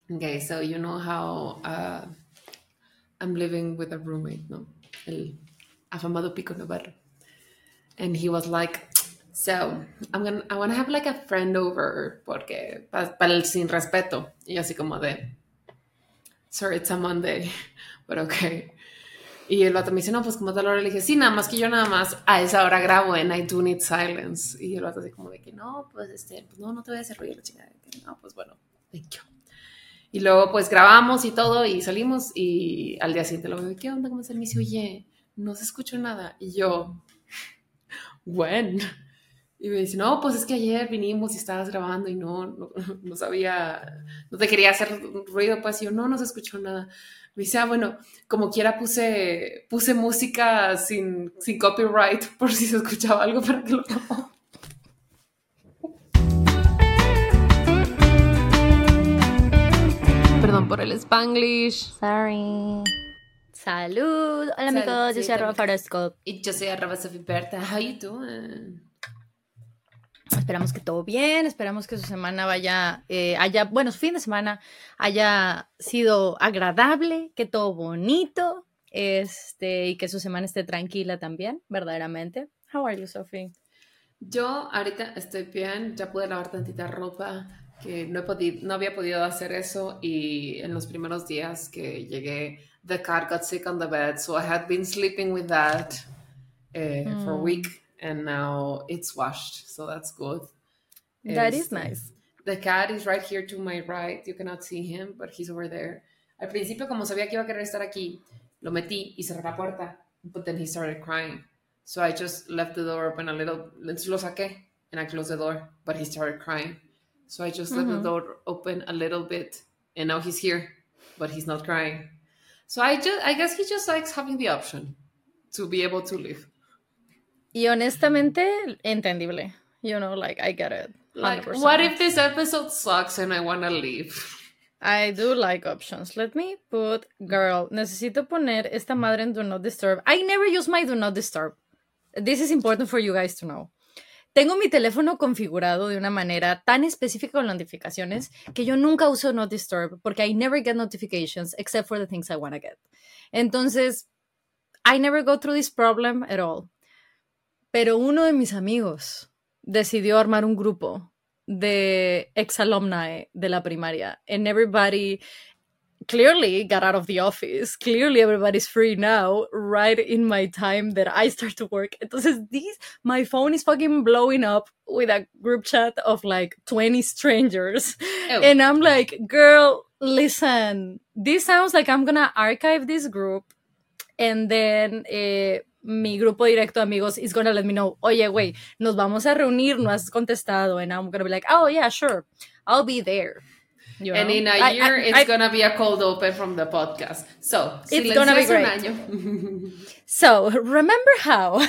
Okay, so you know how I'm living with a roommate, no? El afamado Pico Navarro. And he was like, so I want to have like a friend over porque para el sin respeto. Y yo así como de, sorry, it's a Monday, but okay. Y el vato me dice, no, pues como tal hora. Le dije, sí, nada más que yo nada más a esa hora grabo en I Do Need Silence. Y el vato así como de que no, pues pues no, no te voy a hacer ruido la chingada. Que no, pues bueno, thank you. Y luego pues grabamos y todo y salimos y al día siguiente lo veo, ¿qué onda? ¿Cómo es el Me dice, oye, no se escuchó nada. Y yo, bueno. Y me dice, no, pues es que ayer vinimos y estabas grabando y no sabía, no te quería hacer ruido, pues y yo, no se escuchó nada. Me dice, bueno, como quiera puse música sin copyright por si se escuchaba algo para que lo grabara. Perdón por el Spanglish. Sorry. Salud. Hola amigos, yo soy @Faroscope. Y yo soy @Sofiberta. How you doing? Esperamos que todo bien, esperamos que su semana su fin de semana haya sido agradable, que todo bonito, y que su semana esté tranquila también, verdaderamente. How are you, Sophie? Yo ahorita estoy bien, ya pude lavar tantita ropa, que no había podido hacer eso y en los primeros días que llegué, the cat got sick on the bed, so I had been sleeping with that for a week and now it's washed, so that's good. That is nice. The cat is right here to my right, you cannot see him, but he's over there. Al principio, como sabía que iba a querer estar aquí, lo metí y cerré la puerta, but then he started crying. So I just left the door open a little. Entonces lo saqué and I closed the door, but he started crying. So I just left the door open a little bit and now he's here, but he's not crying. So I guess he just likes having the option to be able to leave. Y honestamente, entendible. You know, like, I get it. 100%. Like, what if this episode sucks and I want to leave? I do like options. Let me put, girl, necesito poner esta madre en Do Not Disturb. I never use my Do Not Disturb. This is important for you guys to know. Tengo mi teléfono configurado de una manera tan específica con las notificaciones que yo nunca uso Not Disturb porque I never get notifications except for the things I want to get. Entonces, I never go through this problem at all. Pero uno de mis amigos decidió armar un grupo de ex-alumni de la primaria and everybody clearly got out of the office. Clearly everybody's free now, right in my time that I start to work. Entonces, my phone is fucking blowing up with a group chat of like 20 strangers. Oh. And I'm like, girl, listen, this sounds like I'm gonna archive this group and then mi grupo directo de amigos is gonna let me know, oye, güey, nos vamos a reunir, no has contestado. And I'm gonna be like, oh, yeah, sure, I'll be there. You know? And in a year, it's going to be a cold open from the podcast. So, it's going to be great. So, remember how?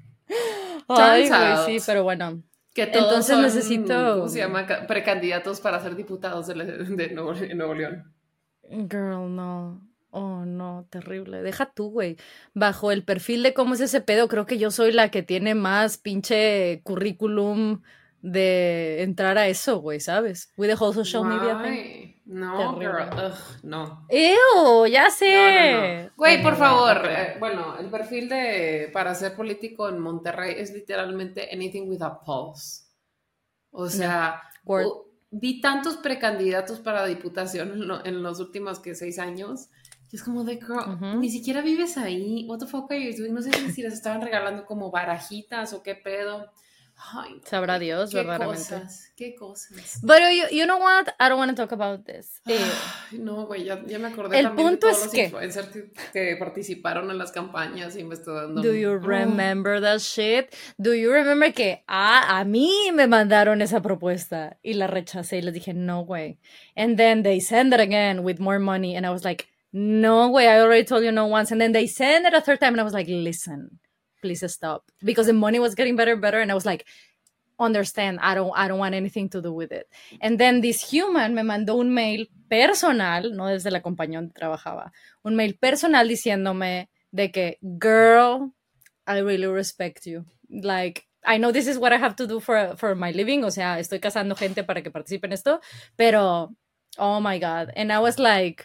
Turns out sí, pero bueno. Que todos entonces son, necesito... ¿Cómo se llama? Precandidatos para ser diputados de Nuevo León. Girl, no. Oh, no, terrible. Deja tú, güey. Bajo el perfil de cómo es ese pedo, creo que yo soy la que tiene más pinche currículum de entrar a eso, güey, ¿sabes? With the whole social media thing. No, girl. Ugh, no. Ew, ya sé. No. Güey, por favor. Bueno, el perfil para ser político en Monterrey es literalmente anything with a pulse. O sea, vi tantos precandidatos para diputación en los últimos 6 años. Y es como de, girl, ni siquiera vives ahí. What the fuck are you doing? No sé si les estaban regalando como barajitas o qué pedo. Ay, sabrá Dios, verdaderamente. Qué cosas. But you know what? I don't want to talk about this. No, güey, ya me acordé el también punto de todos es los que influencers que participaron en las campañas y me estoy dando... Do you remember that shit? Do you remember que a mí me mandaron esa propuesta y la rechacé y les dije, no, güey. And then they send it again with more money and I was like, no, güey, I already told you no once. And then they send it a third time and I was like, listen, please stop. Because the money was getting better and better and I was like, understand, I don't want anything to do with it. And then this human me mandó un mail personal, no desde la compañía donde trabajaba, un mail personal diciéndome de que, girl, I really respect you. Like, I know this is what I have to do for my living, o sea, estoy casando gente para que participe en esto, pero Oh my God. And I was like,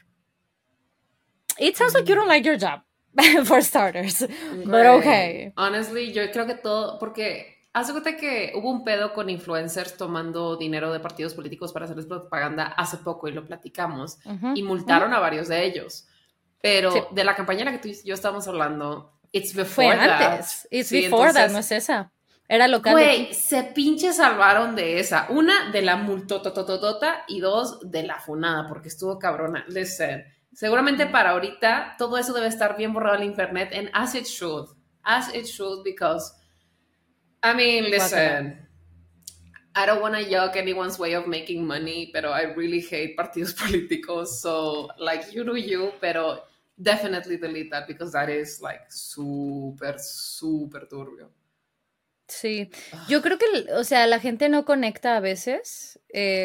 it sounds like you don't like your job, for starters. But Güey, okay. honestly, yo creo que todo, porque hace cuenta que hubo un pedo con influencers tomando dinero de partidos políticos para hacerles propaganda hace poco y lo platicamos Ujú, y ujú. multaron a varios de ellos. Sí, Pero de la campaña en la que tú y yo estábamos hablando, it's fue before that. antes. It's Sí, before that, no entonces, es esa. Era local de aquí. güey, se pinche salvaron de esa. Una, de la multotototota y dos, de la funada, porque estuvo cabrona. Listen, seguramente para ahorita todo eso debe estar bien borrado en internet, and as it should, because, I mean, Guácala. listen, I don't want to yuck anyone's way of making money, pero I really hate partidos políticos, so, like, you do you, pero definitely delete that, because that is, like, súper, súper turbio. Sí, yo creo que, o sea, la gente no conecta a veces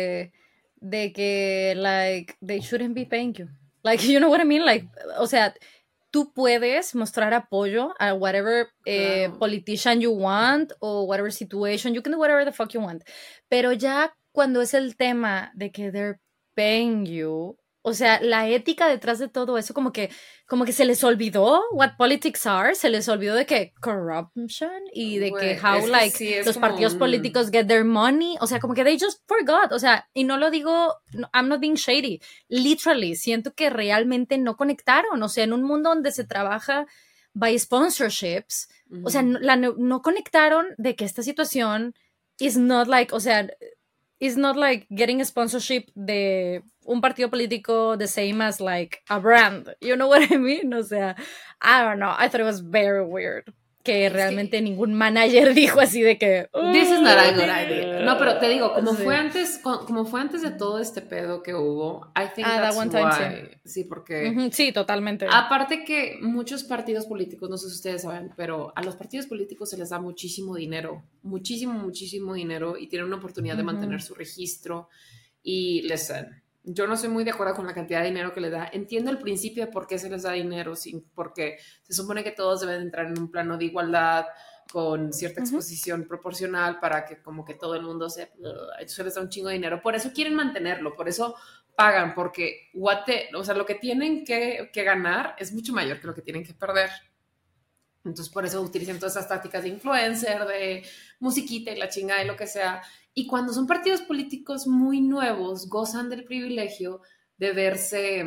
de que, like, they shouldn't be paying you. Like, you know what I mean? Like, o sea, tú puedes mostrar apoyo a whatever Claro. politician you want o whatever situation, you can do whatever the fuck you want. Pero ya cuando es el tema de que they're paying you, o sea, la ética detrás de todo eso, como que se les olvidó what politics are, se les olvidó de que corruption y de que Güey, how es que like sí, es los como partidos un... políticos get their money, o sea, como que they just forgot, o sea, y no lo digo, I'm not being shady, literally, siento que realmente no conectaron, o sea, en un mundo donde se trabaja by sponsorships, o sea, no conectaron de que esta situación is not like, o sea, is not like getting a sponsorship de un partido político the same as like a brand. You know what I mean? O sea, I don't know. I thought it was very weird. Que Es realmente que ningún manager dijo así de que. this is not a good idea. No, pero te digo, Sí. como fue antes de todo este pedo que hubo, I think Ah, that that's one time, sí. why. Sí, porque Ujú, sí, totalmente. aparte que muchos partidos políticos, no sé si ustedes saben, pero a los partidos políticos se les da muchísimo dinero, muchísimo, muchísimo dinero y tienen una oportunidad de mantener Ujú, su registro. Y listen, yo no soy muy de acuerdo con la cantidad de dinero que le da. Entiendo el principio de por qué se les da dinero, porque se supone que todos deben entrar en un plano de igualdad con cierta ujú, exposición proporcional para que como que todo el mundo se les da un chingo de dinero. Por eso quieren mantenerlo, por eso pagan, porque o sea, lo que tienen que ganar es mucho mayor que lo que tienen que perder. Entonces, por eso utilizan todas esas tácticas de influencer, de musiquita y la chingada y lo que sea. Y cuando son partidos políticos muy nuevos, gozan del privilegio de verse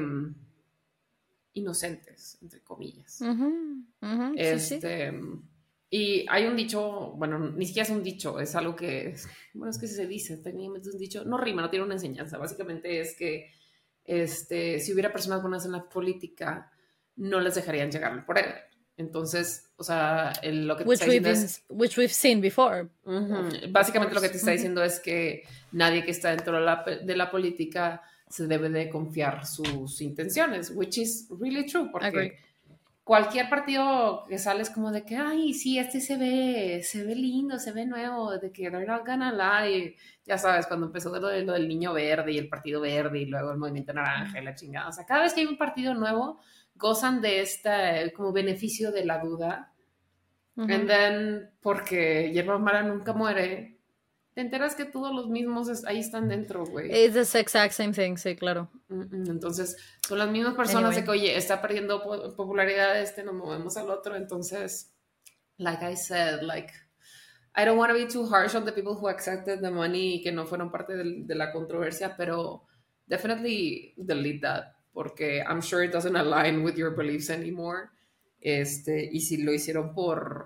inocentes, entre comillas. ujú, ujú, sí, sí. Este, y hay un dicho, bueno, ni siquiera es un dicho, es algo que, bueno, es que se dice, técnicamente es un dicho, no rima, no tiene una enseñanza. Básicamente es que si hubiera personas buenas en la política, no les dejarían llegar al poder. Entonces, o sea, lo que te está diciendo es, Which we've seen before, of básicamente lo que te course. está diciendo es que nadie que está dentro de la política se debe de confiar sus intenciones, which is really true, Agree. porque cualquier partido que sale es como de que, ay, sí, este se ve lindo, se ve nuevo, de que they're not gonna lie. Ya sabes, cuando empezó lo del niño verde y el partido verde y luego el movimiento naranja y la chingada. O sea, cada vez que hay un partido nuevo, gozan de este como beneficio de la duda. And Ujú. then, porque Yerba Mara nunca muere, te enteras que todos los mismos ahí están dentro, güey. It's the exact same thing, sí, claro. Entonces, son las mismas personas de Anyway. que, oye, está perdiendo popularidad nos movemos al otro. Entonces, like I said, like, I don't want to be too harsh on the people who accepted the money y que no fueron parte de la controversia, pero definitely delete that, porque I'm sure it doesn't align with your beliefs anymore. Y si lo hicieron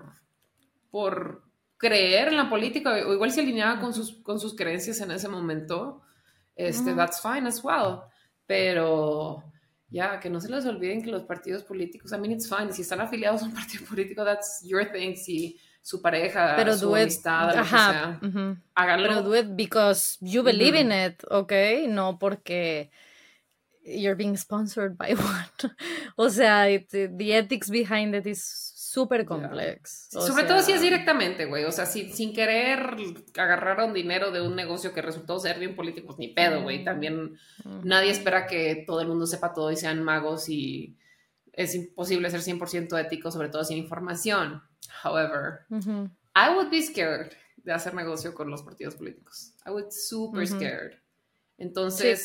por creer en la política, o igual se alineaba Ujú, con sus creencias en ese momento, ujú. that's fine as well. Pero ya, que no se les olviden que los partidos políticos, I mean, it's fine. Si están afiliados a un partido político, that's your thing. Si su pareja, Pero su do it, amistad, lo que ajá, sea, ujú. Pero do háganlo. it because you believe in it, ¿ok? No porque you're being sponsored by one. O sea, the ethics behind it is super Yeah. complex. Sí, O sobre todo si es sea, directamente, güey. O sea, sin querer agarraron dinero de un negocio que resultó ser bien político, pues ni pedo, güey. mm, También nadie ujú, espera que todo el mundo sepa todo y sean magos y es imposible ser 100% ético, sobre todo sin información. However, ujú, I would be scared de hacer negocio con los partidos políticos. I would super ujú. scared. Sí, Entonces,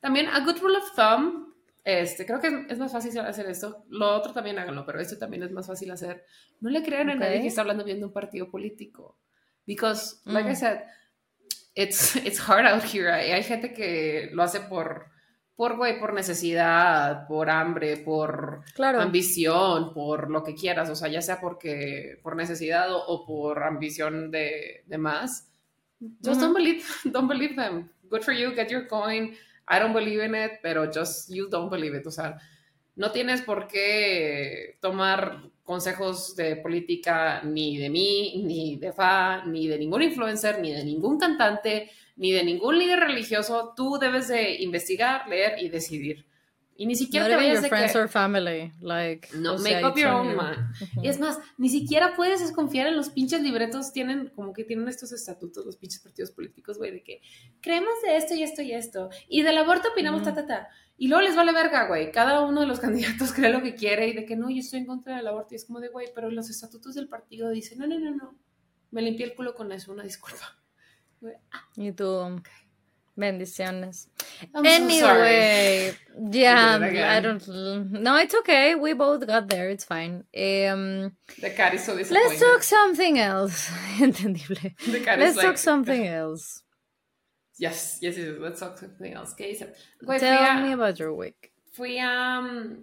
También, a good rule of thumb, creo que es más fácil hacer esto. Lo otro también háganlo, pero esto también es más fácil hacer. No le crean a nadie que está hablando bien de un partido político. Because, like I said, it's hard out here. Hay gente que lo hace por necesidad, por hambre, por ambición, por lo que quieras, o sea, ya sea por necesidad o por ambición de más. Just don't believe them. Good for you, get your coin. I don't believe in it, pero just you don't believe it. O sea, no tienes por qué tomar consejos de política ni de mí, ni de Fa, ni de ningún influencer, ni de ningún cantante, ni de ningún líder religioso. Tú debes de investigar, leer y decidir. Y ni siquiera te vayas de friends or family, like, no, make up your own mind. Y es más, ni siquiera puedes desconfiar en los pinches libretos, tienen estos estatutos, los pinches partidos políticos, güey, de que creemos de esto y esto y esto, y del aborto opinamos y luego les vale verga, güey, cada uno de los candidatos cree lo que quiere y de que no, yo estoy en contra del aborto, y es como de, güey, pero los estatutos del partido dicen, no, me limpié el culo con eso, una disculpa. Güey, y tú, okay. Bendiciones. I'm anyway, so yeah, I don't. No, it's okay. We both got there. It's fine. The cat is so disappointed. Let's talk something else. Entendible. Let's talk something else. Yes. Let's talk something else. ¿Qué dice? Tell me about your week. Fui a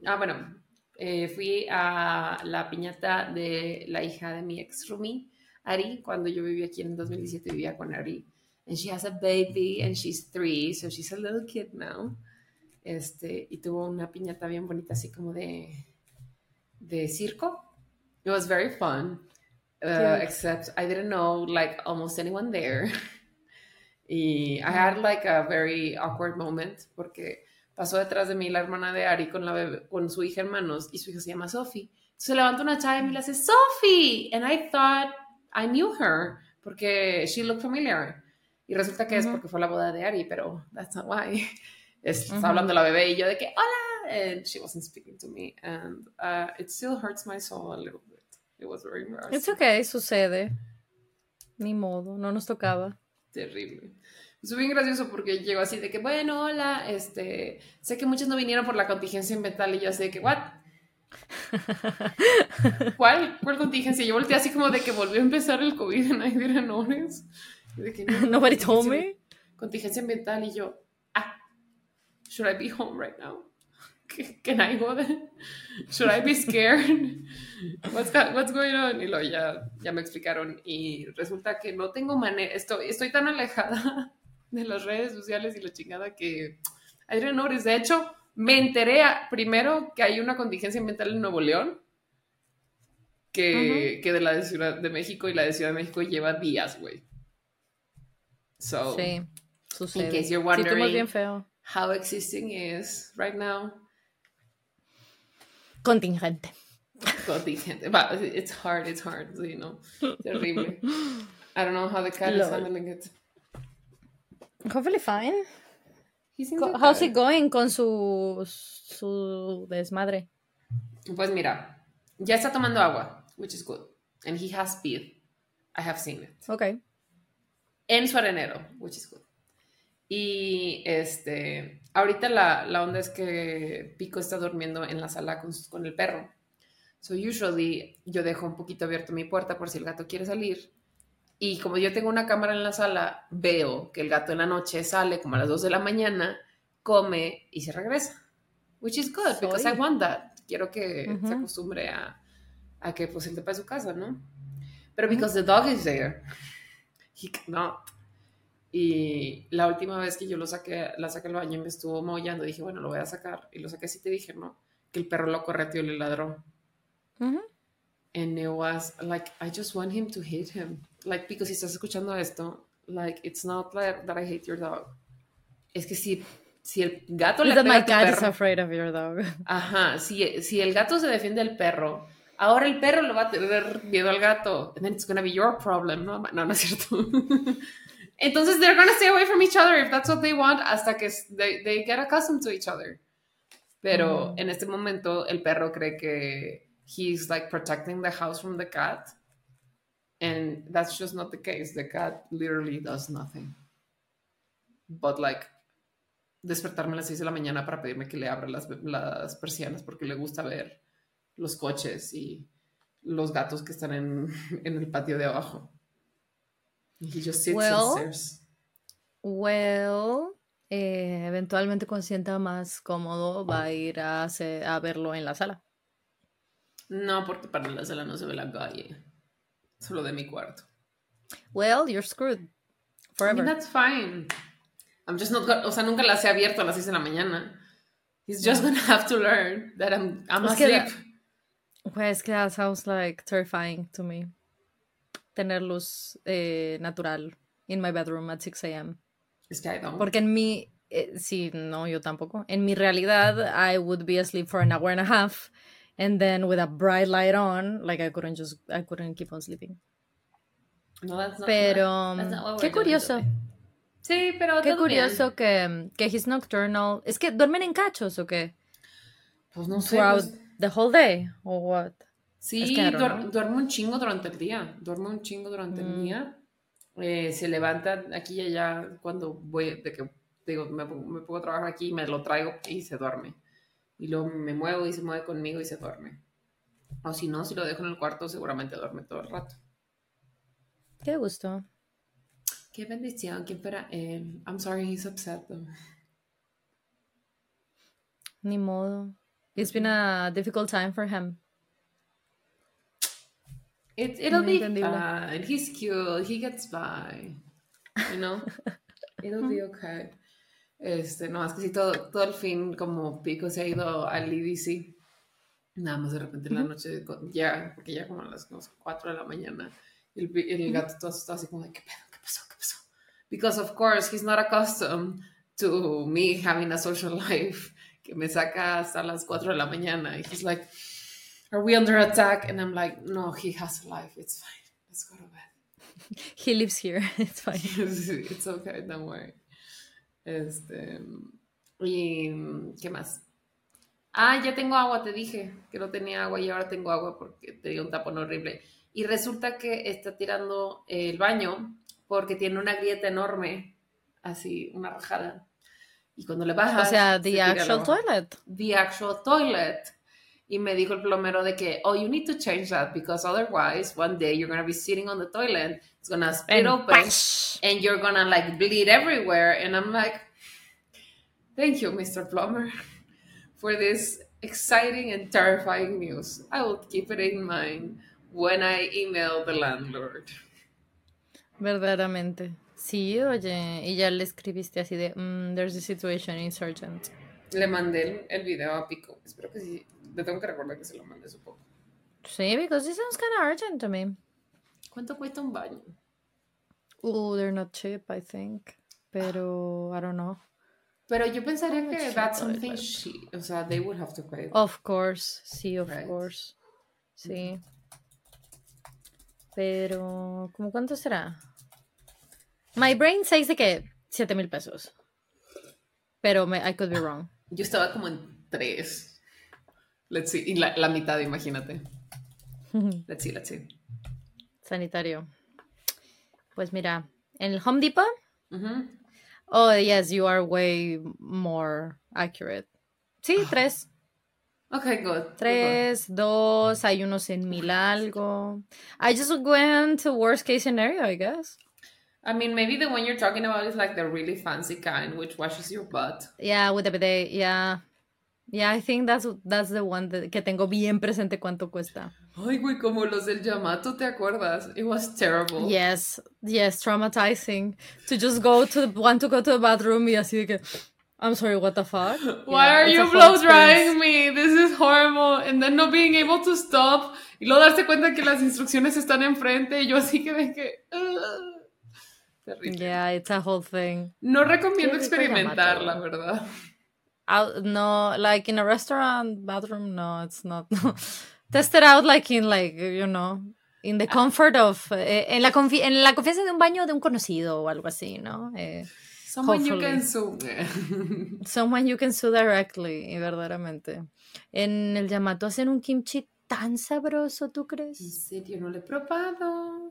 la piñata de la hija de mi ex roomie, Ari, cuando yo vivía aquí en 2017, vivía con Ari. And she has a baby and she's 3, so she's a little kid now. Y tuvo una piñata bien bonita, así como de circo. It was very fun, except I didn't know like almost anyone there. Y I had like a very awkward moment porque pasó detrás de mí la hermana de Ari con su hija en manos y su hija se llama Sophie. Se levanta una chava y me le hace Sophie, and I thought I knew her porque she looked familiar. Y resulta que es porque fue la boda de Ari, pero that's not why. Está hablando la bebé y yo de que, hola, and she wasn't speaking to me, and it still hurts my soul a little bit. It was very embarrassing. It's okay, sucede. Ni modo, no nos tocaba. Terrible. Fue bien gracioso porque llegó así de que, bueno, hola, sé que muchos no vinieron por la contingencia ambiental y yo así de que, what? ¿Cuál contingencia? Yo volteé así como de que volvió a empezar el COVID and I didn't notice. De que, Nobody told me. Contingencia ambiental y yo, should I be home right now? Can I go there? Should I be scared? What's going on? Y luego ya me explicaron y resulta que no tengo manera, estoy tan alejada de las redes sociales y la chingada que I didn't notice. De hecho, me enteré primero que hay una contingencia ambiental en Nuevo León que de la de Ciudad de México, y la de Ciudad de México lleva días, güey. So, sí, sucede. In case you're wondering bien feo. how existing is right now. Contingente. But it's hard, you know. Terrible. I don't know how the cat is handling it. Hopefully fine. How's it going con su desmadre? Pues mira, ya está tomando agua, which is good. And he has speed. I have seen it. Okay. En su arenero, which is good. Y ahorita la onda es que Pico está durmiendo en la sala con el perro. So usually yo dejo un poquito abierto mi puerta por si el gato quiere salir. Y como yo tengo una cámara en la sala, veo que el gato en la noche sale como a las 2 de la mañana, come y se regresa. Which is good, because I want that. Quiero que se acostumbre a que pues él sepa de su casa, ¿no? Pero because the dog is there, he cannot. Y la última vez que yo la saqué al baño y me estuvo maullando, dije, bueno, lo voy a sacar. Y lo saqué así, te dije, ¿no? Que el perro lo correteó y le ladró. And it was like, I just want him to hate him. Like, because si estás escuchando esto, like, it's not like that I hate your dog. Es que si el gato le pega a tu perro... my cat is afraid of your dog. Ajá, si el gato se defiende del perro, ahora el perro le va a tener miedo al gato. And then it's gonna be your problem. No es cierto. Entonces, they're gonna stay away from each other if that's what they want, hasta que they get accustomed to each other. Pero en este momento, el perro cree que he's like protecting the house from the cat. And that's just not the case. The cat literally does nothing. But like despertarme a las 6 de la mañana para pedirme que le abra las persianas porque le gusta ver los coches y los gatos que están en el patio de abajo. And he just sits and Well, stares. Eventualmente cuando se sienta más cómodo va a ir a verlo en la sala. No, porque para la sala no se ve la calle. Solo de mi cuarto. Well, you're screwed. I Forever. mean, that's fine. I'm just not o sea, nunca las he abierto a las 6 de la mañana. He's just gonna have to learn that I'm Es que asleep. Pues que that sounds like terrifying to me. Tener luz natural in my bedroom at 6 a.m. Es que I don't. Porque en mi... sí, no, yo tampoco. En mi realidad, I would be asleep for an hour and a half, and then with a bright light on, like I couldn't keep on sleeping. No, that's not, Pero, that's not what qué we're doing curioso. today. Sí, pero Qué todo curioso bien. que he's nocturnal. ¿Es que duermen en cachos o qué? Pues no sé. Throughout Pues, the whole day, or what? sí, Es que I don't know. duerme un chingo durante el día. Duerme un chingo durante el día. Se levanta aquí y allá cuando voy, de que digo, me pongo a trabajar aquí, me lo traigo y se duerme. Y luego me muevo y se mueve conmigo y se duerme. O si no, si lo dejo en el cuarto, seguramente duerme todo el rato. Qué gusto. Qué bendición, ¿quién fuera él? I'm sorry, he's upset though. Ni modo. It's been a difficult time for him. It'll be Entendible. fine. He's cute. He gets by. You know? It'll be okay. No, es que sí, todo el fin, como Pico se ha ido al EDC. Nada más de repente en la noche, ya, porque ya como a las 4 de la mañana, el gato todo está así como de, ¿qué pedo? ¿Qué pasó? ¿Qué pasó? Because of course he's not accustomed to me having a social life que me saca hasta las 4 de la mañana. And he's like, are we under attack? And I'm like, no, he has a life. It's fine. Let's go to bed. He lives here. It's fine. It's okay, don't worry. Y ¿qué más? Ya tengo agua, te dije que no tenía agua y ahora tengo agua porque tenía un tapón horrible. Y resulta que está tirando el baño porque tiene una grieta enorme, así, una rajada. Y cuando le bajas... O sea, se the tira el actual agua. toilet. The actual toilet. Y me dijo el plomero de que, oh, you need to change that because otherwise one day you're going to be sitting on the toilet, it's going to split open and you're going to like bleed everywhere. And I'm like, thank you, Mr. Plumber, for this exciting and terrifying news. I will keep it in mind when I email the landlord. Verdaderamente. Sí, oye, y ya le escribiste así de, there's a situation, it's urgent. Le mandé el video a Pico. Espero que sí. Le tengo que recordar que se lo mandé supongo. Sí, because it sounds kind of urgent to me. ¿Cuánto cuesta un baño? Oh, they're not cheap, I think. Pero, I don't know. Pero yo pensaría que much that's toilet? something o sea, they would have to pay. Of course, sí, of Right. course. Sí. Pero, ¿cómo cuánto será? My brain says de que 7,000 pesos. Pero I could be wrong. Yo estaba como en 3. Let's see. Y la mitad, imagínate. Let's see. Sanitario. Pues mira, en el Home Depot. Uh-huh. Oh, yes, you are way more accurate. Sí, 3. Okay, good. 3, 2, hay unos en 1,000 algo. I just went to worst case scenario, I guess. I mean, maybe the one you're talking about is like the really fancy kind, which washes your butt. Yeah, with the bidet, yeah. Yeah, I think that's the one que tengo bien presente cuánto cuesta. Ay, güey, como los del Yamato, ¿te acuerdas? It was terrible. Yes, traumatizing. To just go to the bathroom y así de que, I'm sorry, what the fuck? Why are you blow drying me? This is horrible. And then not being able to stop. Y luego darse cuenta que las instrucciones están enfrente y yo así que de que... terrible. Yeah, it's a whole thing. No recomiendo experimentar, la verdad. No, like in a restaurant bathroom, no, it's not. Test it out like in in the comfort of en la confianza de un baño de un conocido o algo así, ¿no? Someone you can sue. Someone you can sue directly, y verdaderamente. En el Yamato hacen un kimchi tan sabroso, ¿tú crees? ¿En serio? No lo he probado.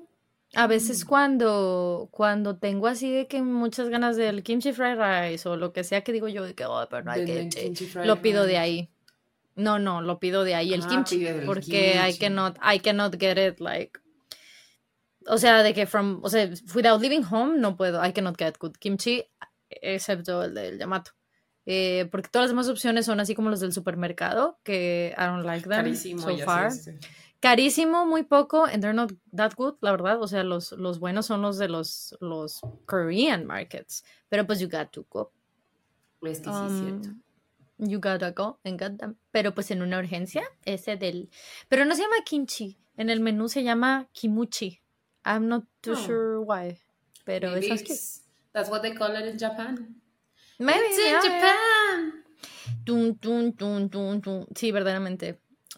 A veces cuando tengo así de que muchas ganas del kimchi fried rice o lo que sea que digo yo de que, oh, pero no hay Venden kimchi, kimchi fried lo pido de rice. ahí. No, lo pido de ahí el Ah, kimchi, pide del porque kimchi. I cannot get it like, o sea, o sea, without leaving home no puedo, I cannot get good kimchi, excepto el del Yamato. Porque todas las demás opciones son así como los del supermercado, que I don't like them Carísimo so y así far. este. Carísimo, muy poco, and they're not that good, la verdad. O sea, los buenos son los de los Korean markets. Pero pues you got to go. Es que sí es cierto. Um, you gotta go and get them. Pero pues en una urgencia, ese del... Pero no se llama kimchi. En el menú se llama kimuchi. I'm not too Oh, sure why. Pero it maybe sounds cute. that's what they call it in Japan. It's Maybe, in yeah, yeah. Japan. Tun, tun, tun, tun, tun. Sí, verdaderamente.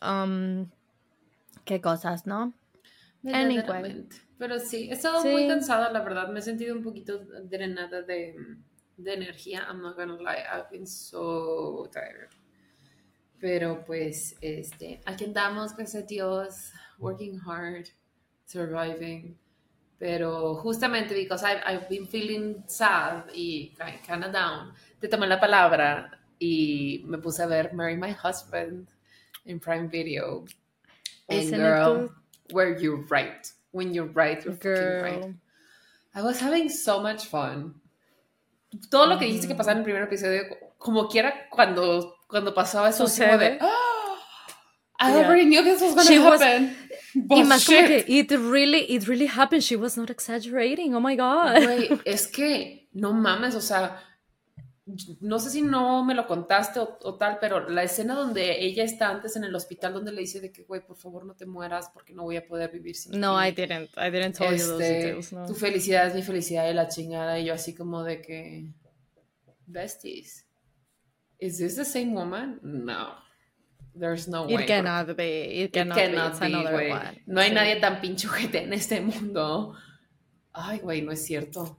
Qué cosas, ¿no? Anyway. Verdaderamente. Pero sí, he estado muy Sí. cansada, la verdad. Me he sentido un poquito drenada de energía. I'm not gonna lie. I've been so tired. Pero pues, aquí andamos, gracias a Dios, working hard, surviving. Pero justamente because I've been feeling sad y kind of down, te tomé la palabra y me puse a ver Marry My Husband in Prime Video. And Isn't it girl, good? were you right? When you're right, you're fucking right. Girl. I was having so much fun. Todo lo que dijiste que pasaba en el primer episodio, como quiera, cuando pasaba eso, así como de, Sucede. oh, I Yeah. already knew this was going She to was, happen. y más como que Bullshit. it really happened. She was not exaggerating. Oh my God. Güey, es que no mames, o sea, no sé si no me lo contaste o tal, pero la escena donde ella está antes en el hospital donde le dice de que, güey, por favor no te mueras porque no voy a poder vivir sin No, ti. I didn't tell you those details, no. Tu felicidad es mi felicidad y la chingada. Y yo así como de que, besties, is this the same woman? No, there's no way. It cannot be. It cannot be. It's another güey. one. No hay Sí. nadie tan pinche ojete en este mundo. Ay, güey, no es cierto.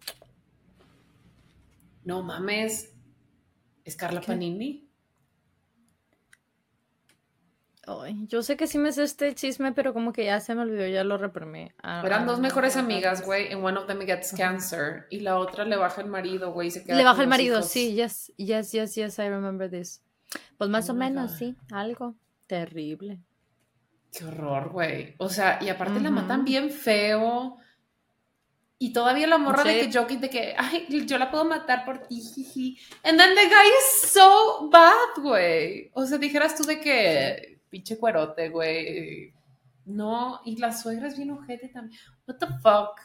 No mames. ¿Es Carla ¿Qué? Panini? Ay, yo sé que sí me sé este chisme, pero como que ya se me olvidó, ya lo reprimí. Eran dos mejores what amigas, happens. güey, and one of them gets cancer, y la otra le baja el marido, güey, y se queda Le baja con el los marido, hijos. sí, yes, I remember this. Pues más Oh o my menos, God. sí, algo terrible. Qué horror, güey. O sea, y aparte la Ujú. matan bien feo. Y todavía la morra de Sí. que joking, de que, ay, yo la puedo matar por ti, jiji. And then the guy is so bad, güey. O sea, dijeras tú de que, pinche cuerote, güey. No, y la suegra es bien ojete también. What the fuck?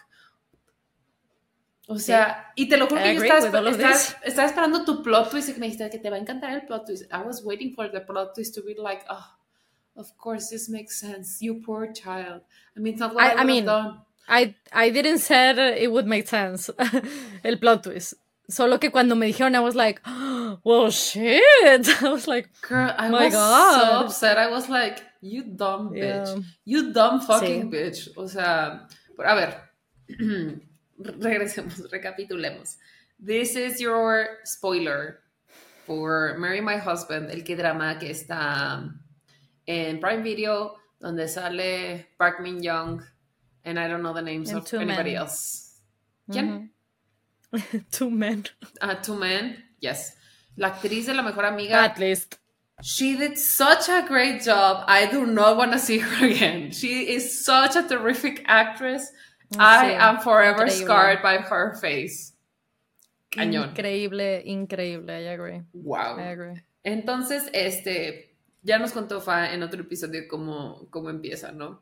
O sea, y te lo juro I que yo agree with all of this. estaba esperando tu plot twist y que me dijiste que te va a encantar el plot twist. I was waiting for the plot twist to be like, oh, of course this makes sense. You poor child. I mean, it's not what I would have done. I didn't say it would make sense. El plot twist. Solo que cuando me dijeron, I was like, well, shit. I was like, girl, I my was God. so upset. I was like, you dumb bitch. Yeah. You dumb fucking Sí. bitch. O sea, a ver, regresemos, recapitulemos. This is your spoiler for Marry My Husband, el K-drama que está en Prime Video, donde sale Park Min Young, and I don't know the names And of two anybody men. else. ¿Quién? Two men. Two men, yes. La actriz de la mejor amiga. At least. She did such a great job. I do not want to see her again. She is such a terrific actress. I am forever increíble. scarred by her face. Cañón. Increíble, increíble. I agree. Wow. I agree. Entonces, ya nos contó Fa en otro episodio cómo empieza, ¿no?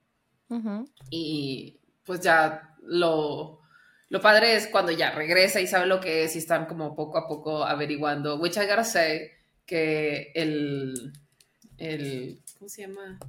Y pues ya lo padre es cuando ya regresa y sabe lo que es y están como poco a poco averiguando, which I gotta say que el ¿cómo se llama?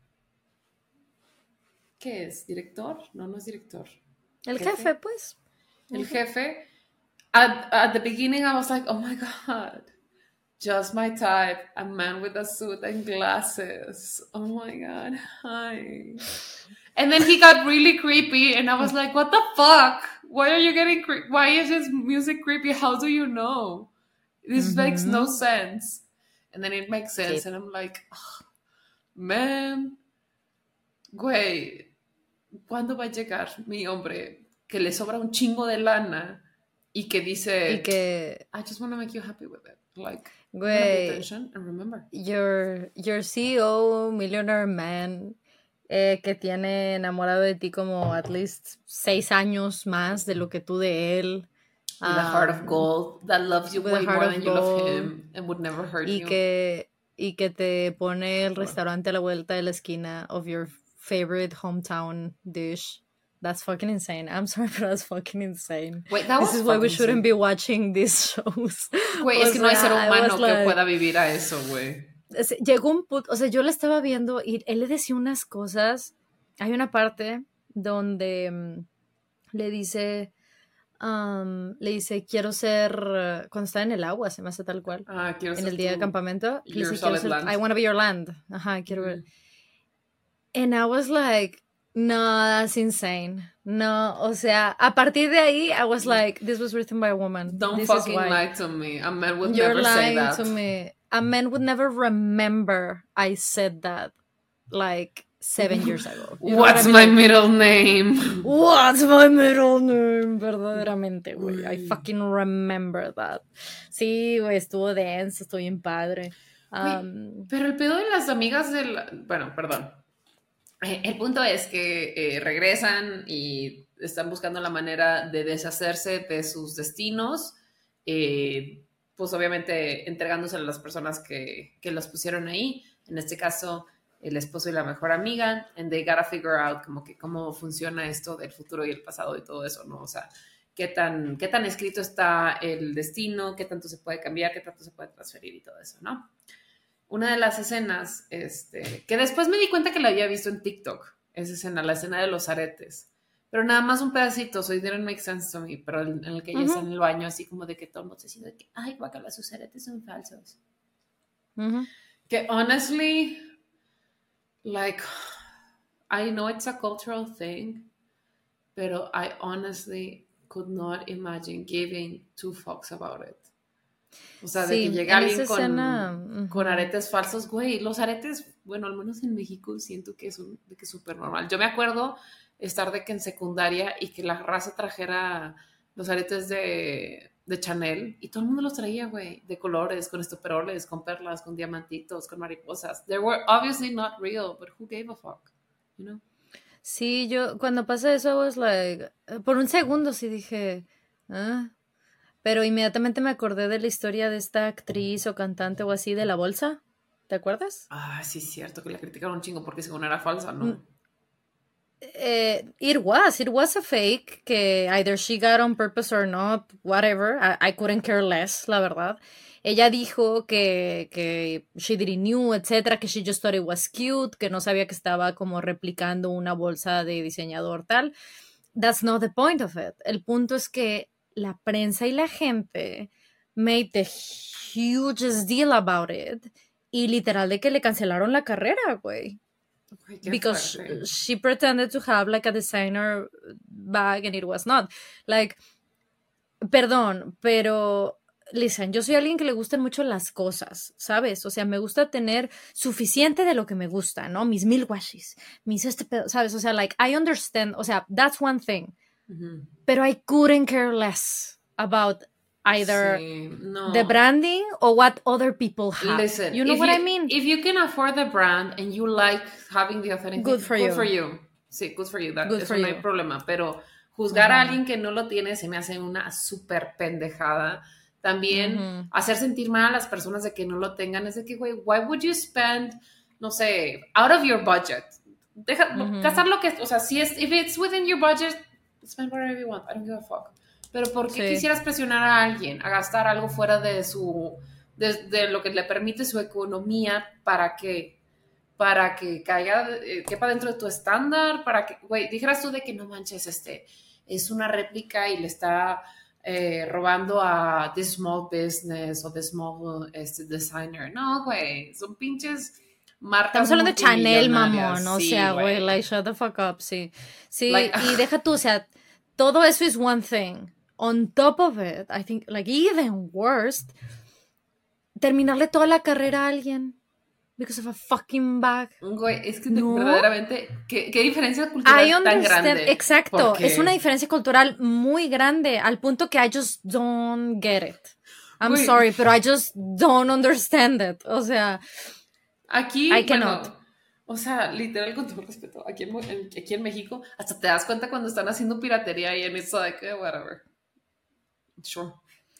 ¿Qué es? ¿Director? No es director. El jefe, pues. El jefe. At the beginning I was like, oh my God, just my type, a man with a suit and glasses. Oh my God, hi. And then he got really creepy, and I was like, what the fuck? Why are you getting why is this music creepy? How do you know? This makes no sense. And then it makes sense, and I'm like, oh, man, güey, ¿cuándo va a llegar mi hombre que le sobra un chingo de lana y que dice, Y que, I just want to make you happy with it. Like, I'm gonna pay güey, attention and remember. your CEO, millionaire man, que tiene enamorado de ti como at least 6 años más de lo que tú de él. With a heart of gold that loves you With a way heart more of than you love gold. him and would never hurt Y you. que te pone el restaurante a la vuelta de la esquina of your favorite hometown dish. That's fucking insane. I'm sorry, but that's fucking insane. Wait, that This was is why we fucking shouldn't insane. be watching these shows. Güey, O es que no hay ser sea, I humano was que like- pueda vivir a eso, güey. Llegó un punto, o sea, yo le estaba viendo y él le decía unas cosas. Hay una parte donde le dice, quiero ser, cuando está en el agua, se me hace tal cual, Ah, quiero en ser el día de tu- campamento, le your dice, quiero solid ser, land. I want to be your land. Ajá, quiero ver. And I was like, no, that's insane. No, o sea, a partir de ahí, I was like, this was written by a woman. Don't This fucking is why. lie to me. A man would You're never say lying that. to me. A man would never remember I said that like 7 years ago. You know what What's I mean? my Like, middle name? what's my middle name? Verdaderamente, güey. I fucking remember that. Sí, güey, estuvo denso, estuvo bien padre. Pero el pedo de las amigas del... Bueno, perdón. El punto es que regresan y están buscando la manera de deshacerse de sus destinos, pues obviamente entregándose a las personas que los pusieron ahí, en este caso el esposo y la mejor amiga, and they gotta figure out como que cómo funciona esto del futuro y el pasado y todo eso, ¿no? O sea, qué tan escrito está el destino, qué tanto se puede cambiar, qué tanto se puede transferir y todo eso, ¿no? Una de las escenas, que después me di cuenta que la había visto en TikTok, esa escena, la escena de los aretes, pero nada más un pedacito, so it didn't make sense to me, pero en el que ella está en el baño, así como de que todo el mundo se siente de que, ay, guacala, sus aretes son falsos. Que honestly, like, I know it's a cultural thing, pero I honestly could not imagine giving 2 fucks about it. O sea, de Sí, que llega en alguien esa escena, con aretes falsos, güey. Los aretes, bueno, al menos en México siento que es súper normal. Yo me acuerdo estar de que en secundaria y que la raza trajera los aretes de Chanel y todo el mundo los traía, güey, de colores, con estoperoles, con perlas, con diamantitos, con mariposas. They were obviously not real, but who gave a fuck, you know? sí, yo cuando pasa eso, I was like, por un segundo sí dije, pero inmediatamente me acordé de la historia de esta actriz o cantante o así de la bolsa. ¿Te acuerdas? Ah, sí, es cierto, que la criticaron un chingo porque según era falsa, ¿no? It was a fake, que either she got on purpose or not, whatever, I couldn't care less, la verdad. Ella dijo que she didn't knew, etcétera, que she just thought it was cute, que no sabía que estaba como replicando una bolsa de diseñador tal. That's not the point of it. El punto es que la prensa y la gente made the hugest deal about it y literal de que le cancelaron la carrera, güey. Because she pretended to have like a designer bag and it was not. Like, perdón, pero listen, yo soy alguien que le gustan mucho las cosas, ¿sabes? O sea, me gusta tener suficiente de lo que me gusta, ¿no? Mis 1000 washis, mis pedo, ¿sabes? O sea, like, I understand, o sea, that's one thing. Pero I couldn't care less about either the branding or what other people have. Listen, you know what I mean? If you can afford the brand and you like having the authentic, good for you. Sí, good for you. That, good eso for no you. hay problema. Pero juzgar a alguien que no lo tiene se me hace una súper pendejada. También hacer sentir mal a las personas de que no lo tengan es de que, güey, why would you spend, no sé, out of your budget? Gastar lo que, o sea, if it's within your budget, spend whatever you want. I don't give a fuck. Pero ¿por qué quisieras presionar a alguien a gastar algo fuera de de lo que le permite su economía para que caiga, quepa dentro de tu estándar? Para que, güey, dijeras tú de que no manches, es una réplica y le está robando a the small business o the small designer. No, güey, son pinches marcas. Estamos hablando de Chanel, mamón, o sí, sea, güey, like, shut the fuck up, sí. Sí, like, y deja tú, o sea, todo eso es one thing. On top of it, I think, like, even worse, terminarle toda la carrera a alguien. because of a fucking bag. Güey, es que No. verdaderamente, ¿qué diferencia cultural I tan understand, grande? exacto, Porque, es una diferencia cultural muy grande al punto que I just don't get it. I'm güey, sorry, pero I just don't understand it. O sea, aquí, I cannot. bueno, o sea, literal, con todo respeto, aquí en México, hasta te das cuenta cuando están haciendo piratería y en eso de que, whatever. Sure.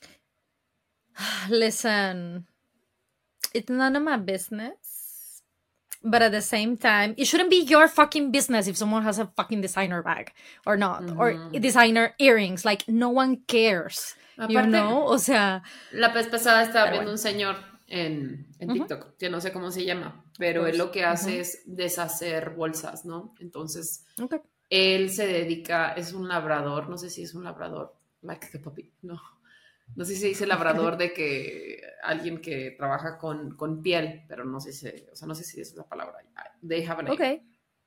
Listen, it's none of my business. But at the same time, it shouldn't be your fucking business if someone has a fucking designer bag or not, or designer earrings. Like, no one cares. You Aparte, know? O sea, la vez pasada estaba pero viendo bueno. un señor en Ujú, TikTok, que no sé cómo se llama, of pero él course. lo que hace Ujú. es deshacer bolsas, ¿no? Entonces, Okay. él se dedica, es un labrador, no sé si es un labrador, like the puppy, no. No sé si se dice labrador de que alguien que trabaja con piel, pero no sé si, o sea, no sé si es la palabra. They have a name. Okay.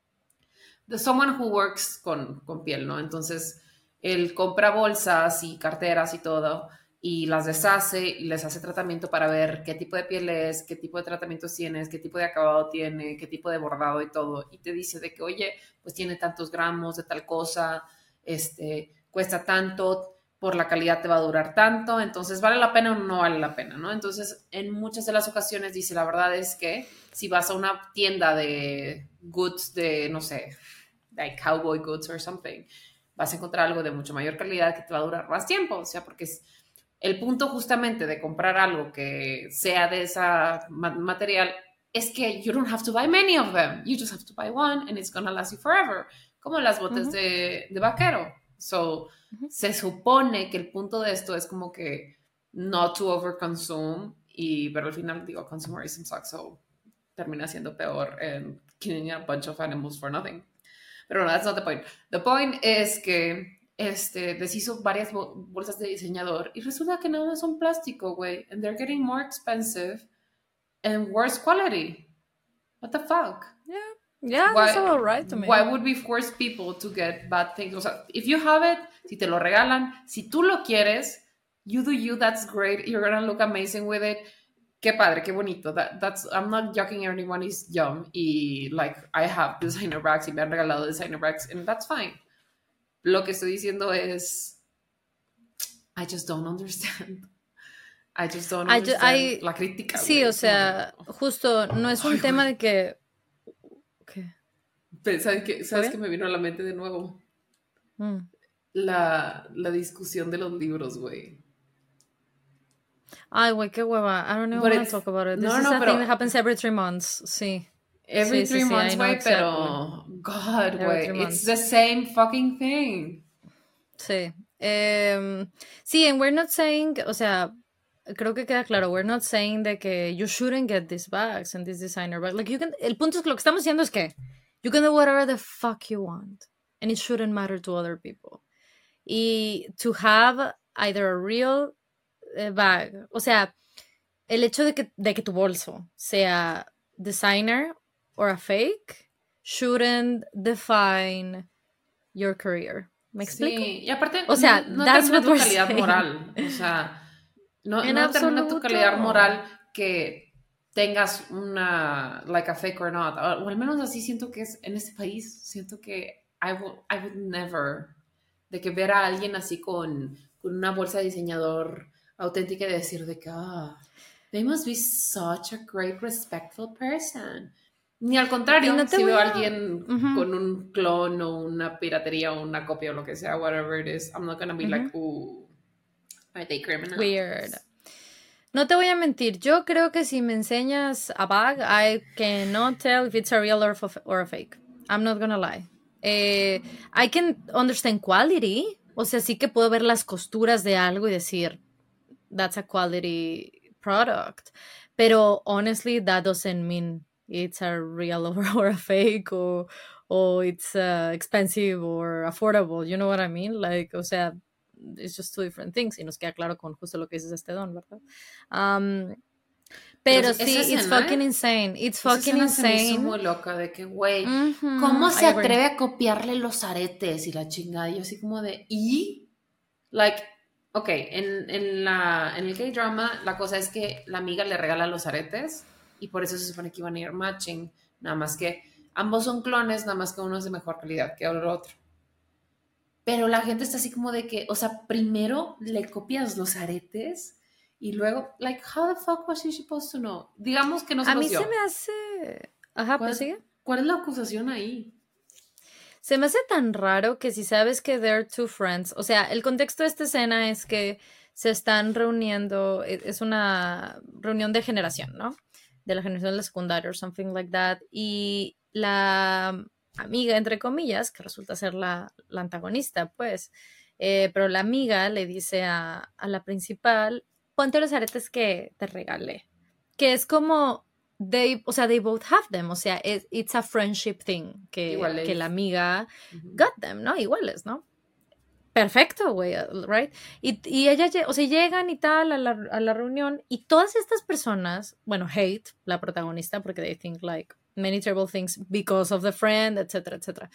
The someone who works con piel, ¿no? Entonces, él compra bolsas y carteras y todo y las deshace y les hace tratamiento para ver qué tipo de piel es, qué tipo de tratamientos tienes, qué tipo de acabado tiene, qué tipo de bordado y todo. Y te dice de que, oye, pues tiene tantos gramos de tal cosa, cuesta tanto, por la calidad te va a durar tanto, entonces vale la pena o no vale la pena, ¿no? Entonces, en muchas de las ocasiones dice, la verdad es que si vas a una tienda de goods de, no sé, like cowboy goods or something, vas a encontrar algo de mucho mayor calidad que te va a durar más tiempo, o sea, porque es el punto justamente de comprar algo que sea de esa material es que you don't have to buy many of them, you just have to buy one and it's gonna last you forever, como las botas Ujú, de vaquero. So, ujú. se supone que el punto de esto es como que not to overconsume, pero al final digo, consumerism sucks, so termina siendo peor en killing a bunch of animals for nothing. Pero no, that's not the point. The point es que deshizo varias bolsas de diseñador y resulta que nada más son plástico, güey. And they're getting more expensive and worse quality. What the fuck? Yeah. Yeah, that's Why, about right to why me. would we force people to get bad things? O sea, if you have it, si te lo regalan, si tú lo quieres, you do you, that's great. You're gonna look amazing with it. Qué padre, qué bonito. That's, I'm not joking, everyone is young. Y like, I have designer bags y me han regalado designer bags, and that's fine. Lo que estoy diciendo es, I just don't understand. I just don't understand la crítica, Sí, güey. o Es como de, sea, justo no es ay, un tema güey. de que. ¿Qué? ¿Está ¿Sabes qué bien? me vino a la mente de nuevo? Mm. La discusión de los libros, güey. Ay, güey, qué hueva. I don't even But want to it's, talk about it. This no, is no, a thing that pero happens every 3 months. Sí. every Sí, sí, three sí, I months, know güey, exactly. pero God, Every güey, 3 months. it's the same fucking thing. Sí. Sí, and we're not saying, o sea, creo que queda claro, we're not saying de que you shouldn't get these bags and this designer bag. Like, el punto es que lo que estamos diciendo es que you can do whatever the fuck you want and it shouldn't matter to other people. Y to have either a real bag, o sea, el hecho de que tu bolso sea designer or a fake shouldn't define your career. ¿Me explico? Sí, y aparte O sea, no that's termina what tu we're calidad saying. moral, o sea, no, En no determina tu absoluto. calidad moral que tengas una, like a fake or not, o al menos así siento que es en este país, siento que I would never, de que ver a alguien así con una bolsa de diseñador auténtica y decir de que, they must be such a great, respectful person. Ni al Y contrario, no te si voy veo a a... alguien Ujú, con un clon o una piratería o una copia o lo que sea, whatever it is, I'm not gonna be like, ujú. ooh, are they Weird. criminals? No te voy a mentir, yo creo que si me enseñas a bag, I cannot tell if it's a real or a fake. I'm not gonna lie. I can understand quality. O sea, sí que puedo ver las costuras de algo y decir, that's a quality product. Pero honestly, that doesn't mean it's a real or a fake or it's expensive or affordable. You know what I mean? Like, o sea, it's just two different things. Y nos queda claro con justo lo que dices este don, ¿verdad? Um, Pero pero esa sí, it's escena, fucking insane. It's esa fucking escena se me hizo insane. muy loca de que, güey, ¿cómo I se agree. atreve a copiarle los aretes y la chingada? Y yo así como de, ¿y? Like, ok, en el K-drama la cosa es que la amiga le regala los aretes y por eso se supone que iban a ir matching, nada más que ambos son clones, nada más que uno es de mejor calidad que el otro. Pero la gente está así como de que, o sea, primero le copias los aretes y luego, like, how the fuck was she supposed to know? Digamos que no se A los mí se dio. me hace... Ajá, ¿Cuál pues es, sigue. cuál es la acusación ahí? Se me hace tan raro que si sabes que they're two friends, o sea, el contexto de esta escena es que se están reuniendo, es una reunión de generación, ¿no? De la generación de la secundaria o something like that, y la amiga, entre comillas, que resulta ser la antagonista, pues, pero la amiga le dice a la principal, ponte los aretes que te regalé, que es como o sea, they both have them, o sea, it's a friendship thing, que la Iguales. amiga Ujú. got them, ¿no? Iguales, ¿no? Perfecto, güey, right? Y ella, o sea, llegan y tal a la reunión y todas estas personas, bueno, hate la protagonista porque they think like many terrible things because of the friend, etcétera, etcétera.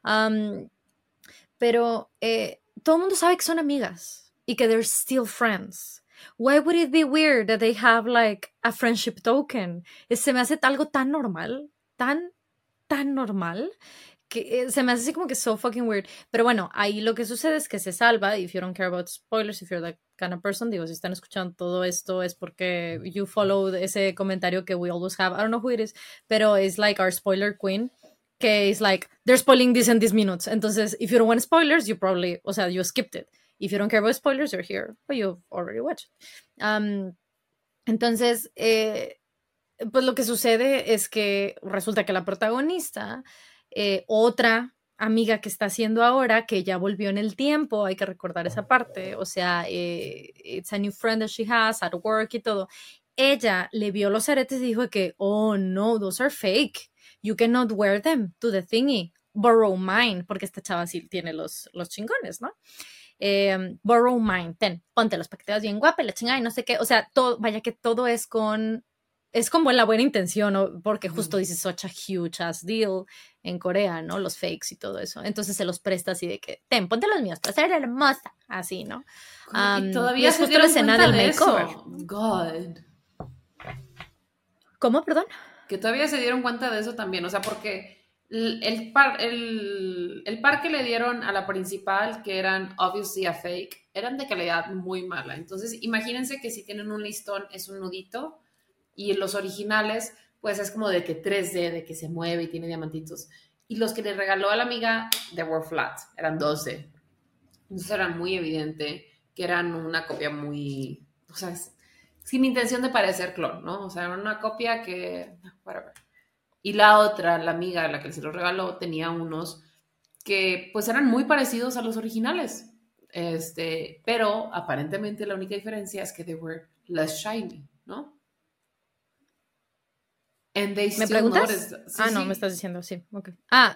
Pero todo el mundo sabe que son amigas y que they're still friends. Why would it be weird that they have like a friendship token? Se me hace algo tan normal, tan normal, que se me hace así como que so fucking weird. Pero bueno, ahí lo que sucede es que se salva. If you don't care about spoilers, if you're that kind of person, digo, si están escuchando todo esto es porque you follow ese comentario que we always have. I don't know who it is, pero it's like our spoiler queen, que es like, they're spoiling this in these minutes. Entonces, if you don't want spoilers, you probably, o sea, you skipped it. If you don't care about spoilers, you're here, but you've already watched. Entonces, pues lo que sucede es que resulta que la protagonista, otra amiga que está haciendo ahora, que ya volvió en el tiempo, hay que recordar esa parte, o sea, it's a new friend that she has at work y todo, ella le vio los aretes y dijo que, oh no, those are fake, you cannot wear them to the thingy, borrow mine, porque esta chava sí tiene los chingones, ¿no? Borrow mine, ten, póntelos para que te veas bien guapa y la chingada y no sé qué, o sea, todo, vaya que todo es como la buena intención, ¿no? Porque justo dice such a huge ass deal en Corea, ¿no? Los fakes y todo eso. Entonces se los presta así de que, ten, ponte los míos para ser hermosa, así, ¿no? Y Y todavía es se justo la dieron escena cuenta del de makeover. eso. God. ¿Cómo, perdón? Que todavía se dieron cuenta de eso también. O sea, porque el par que le dieron a la principal, que eran obviously a fake, eran de calidad muy mala. Entonces, imagínense que si tienen un listón es un nudito y los originales, pues es como de que 3D, de que se mueve y tiene diamantitos. Y los que le regaló a la amiga, they were flat, eran 12. Entonces era muy evidente que eran una copia muy, o sea, sin intención de parecer clon, ¿no? O sea, era una copia que, whatever. Y la otra, la amiga, la que se los regaló, tenía unos que pues eran muy parecidos a los originales. Pero aparentemente la única diferencia es que they were less shiny, ¿no? And they ¿Me still preguntas? noticed. Sí, Ah, no, me sí. estás diciendo, sí, ok.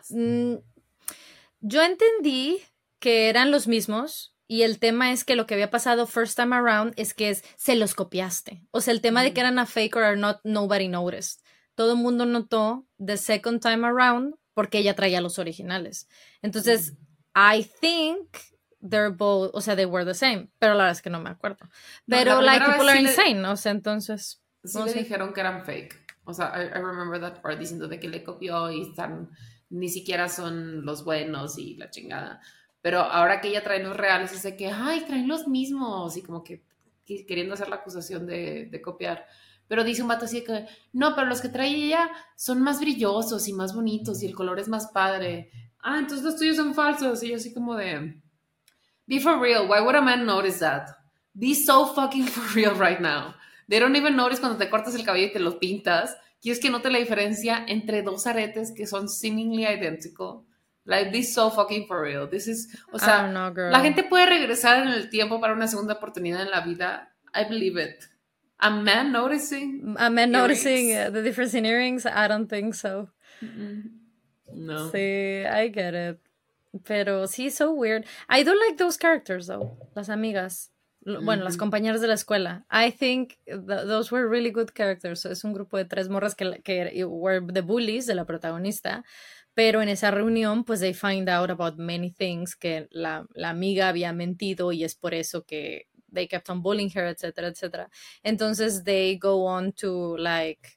Yo entendí que eran los mismos y el tema es que lo que había pasado first time around es que se los copiaste. O sea, el tema de que eran a fake or not, nobody noticed. Todo el mundo notó the second time around porque ella traía los originales. Entonces, I think they're both, o sea, they were the same, pero la verdad es que no me acuerdo. No, la Pero, like, primera people vez are insane, o sea, entonces, sí no le sé. dijeron que eran fake. O sea, I remember that part diciendo de que le copió y están, ni siquiera son los buenos y la chingada. Pero ahora que ella trae los reales, dice que, ay, traen los mismos. Y como que queriendo hacer la acusación de copiar. Pero dice un vato así de que, no, pero los que trae ella son más brillosos y más bonitos y el color es más padre. Ah, entonces los tuyos son falsos. Y yo así como de, be for real. Why would a man notice that? Be so fucking for real right now. They don't even notice cuando te cortas el cabello y te lo pintas. ¿Quieres que note la diferencia entre dos aretes que son seemingly identical? Like, be so fucking for real. This is, o I don't sea, know, la girl. gente puede regresar en el tiempo para una segunda oportunidad en la vida. I believe it. A man noticing A man noticing earrings. the difference in earrings, I don't think so. No. Sí, I get it. Pero sí, so weird. I do like those characters, though. Las amigas. Bueno, las compañeras de la escuela. I think those were really good characters. Es un grupo de tres morras que were the bullies de la protagonista. Pero en esa reunión, pues they find out about many things que la amiga había mentido y es por eso que they kept on bullying her, etcétera, etcétera. Entonces they go on to like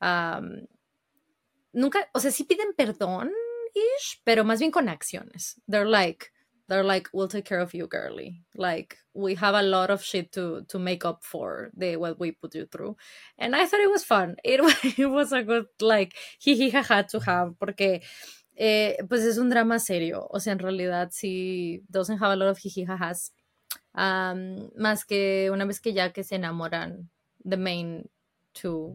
um, nunca, o sea, sí piden perdón, ish, pero más bien con acciones. They're like, we'll take care of you, girly. Like, we have a lot of shit to make up for what we put you through. And I thought it was fun. It was a good, like, jiji jaja to have, porque pues es un drama serio. O sea, en realidad sí doesn't have a lot of jiji jajas. Más que una vez que ya que se enamoran, the main two,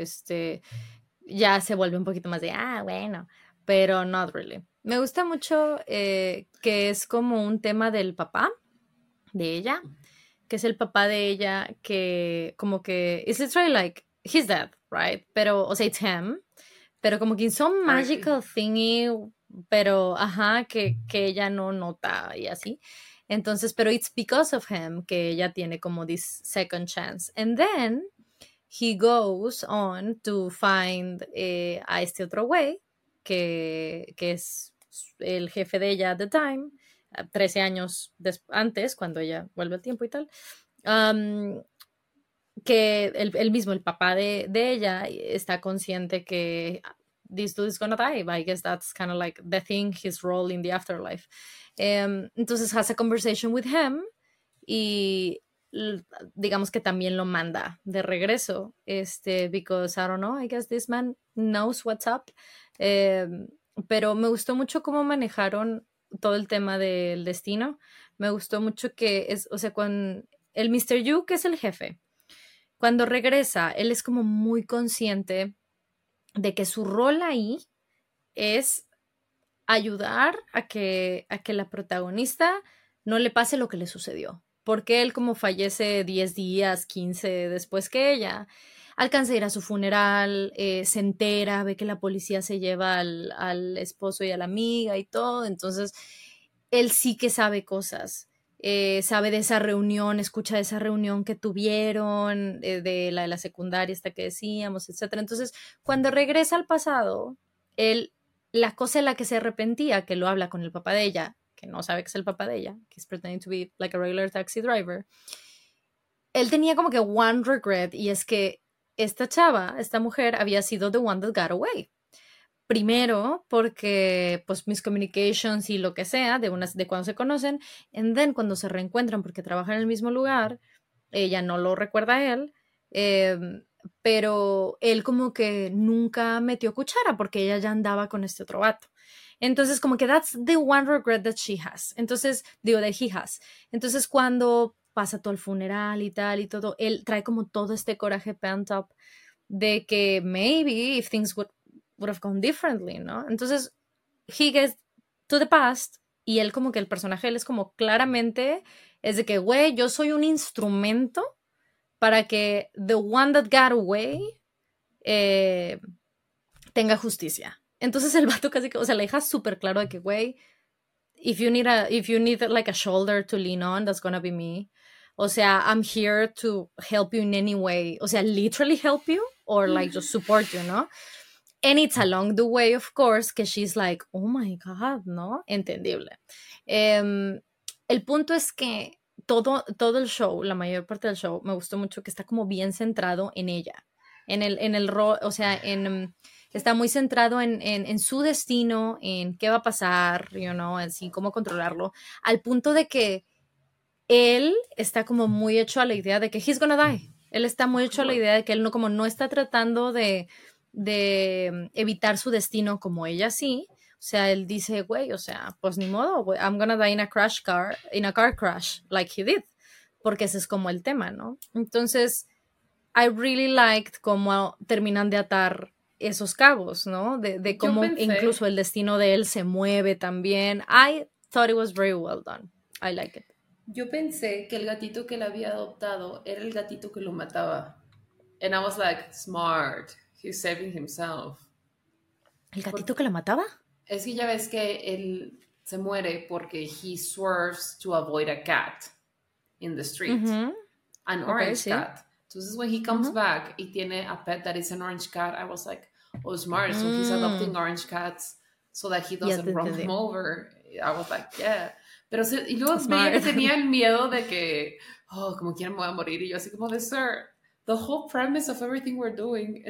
ya se vuelve un poquito más de, bueno, pero not really. Me gusta mucho que es como un tema del papá de ella, que es el papá de ella que como que, it's literally like, he's dead, right? Pero, o sea, it's him, pero como que in some magical thingy, pero, ajá, que ella no nota y así. Entonces, pero it's because of him que ella tiene como this second chance. And then he goes on to find a este otro güey, que es el jefe de ella at the time, 13 años antes, cuando ella vuelve al tiempo y tal. Que el mismo, el papá de ella, está consciente que this dude is gonna die. I guess that's kind of like the thing, his role in the afterlife. Entonces has a conversation with him y digamos que también lo manda de regreso, because I don't know, I guess this man knows what's up. Pero me gustó mucho cómo manejaron todo el tema del destino. Me gustó mucho que es, o sea, con el Mr. Yu, que es el jefe, cuando regresa, él es como muy consciente de que su rol ahí es ayudar a que la protagonista no le pase lo que le sucedió. Porque él, como fallece 10 días, 15 después que ella, alcanza a ir a su funeral, se entera, ve que la policía se lleva al esposo y a la amiga y todo. Entonces, él sí que sabe cosas. Sabe de esa reunión, escucha de esa reunión que tuvieron, de la secundaria esta que decíamos, etc. Entonces, cuando regresa al pasado, él, la cosa en la que se arrepentía, que lo habla con el papá de ella, que no sabe que es el papá de ella, que es pretending to be like a regular taxi driver, él tenía como que one regret, y es que esta chava, esta mujer, había sido the one that got away. Primero, porque pues miscommunications y lo que sea, de cuando se conocen, and then cuando se reencuentran porque trabajan en el mismo lugar, ella no lo recuerda a él, pero él como que nunca metió cuchara porque ella ya andaba con este otro vato. Entonces, como que that's the one regret that she has. Entonces, digo, that he has. Entonces, cuando pasa todo el funeral y tal y todo, él trae como todo este coraje pent up de que maybe if things would have gone differently, ¿no? Entonces, he gets to the past y él como que el personaje, él es como claramente, es de que, güey, yo soy un instrumento para que the one that got away tenga justicia. Entonces el vato casi que, o sea, le deja súper claro de que, güey, if you need like a shoulder to lean on, that's gonna be me. O sea, I'm here to help you in any way. O sea, literally help you or like just support you, ¿no? And it's along the way, of course, que she's like, oh my God, ¿no? Entendible. El punto es que todo el show, la mayor parte del show, me gustó mucho que está como bien centrado en ella. En el rol, o sea, está muy centrado en su destino, en qué va a pasar, así, cómo controlarlo, al punto de que él está como muy hecho a la idea de que he's gonna die. Él está muy hecho a la idea de que él no está tratando de evitar su destino como ella sí. O sea, él dice, güey, o sea, pues ni modo, I'm gonna die in a car crash, like he did. Porque ese es como el tema, ¿no? Entonces, I really liked cómo terminan de atar esos cabos, ¿no? De cómo incluso el destino de él se mueve también. I thought it was very well done. I like it. Yo pensé que el gatito que él había adoptado era el gatito que lo mataba. And I was like, smart. He's saving himself. ¿El gatito que la mataba? Es que ya ves que él se muere porque he swerves to avoid a cat in the street. An orange cat. Entonces, when he comes back y tiene a pet that is an orange cat, I was like, oh, smart. So he's adopting orange cats so that he doesn't run them over. I was like, yeah. Pero y luego veía que tenía el miedo de que, como quiera me voy a morir. Y yo así como de, sir, the whole premise of everything we're doing is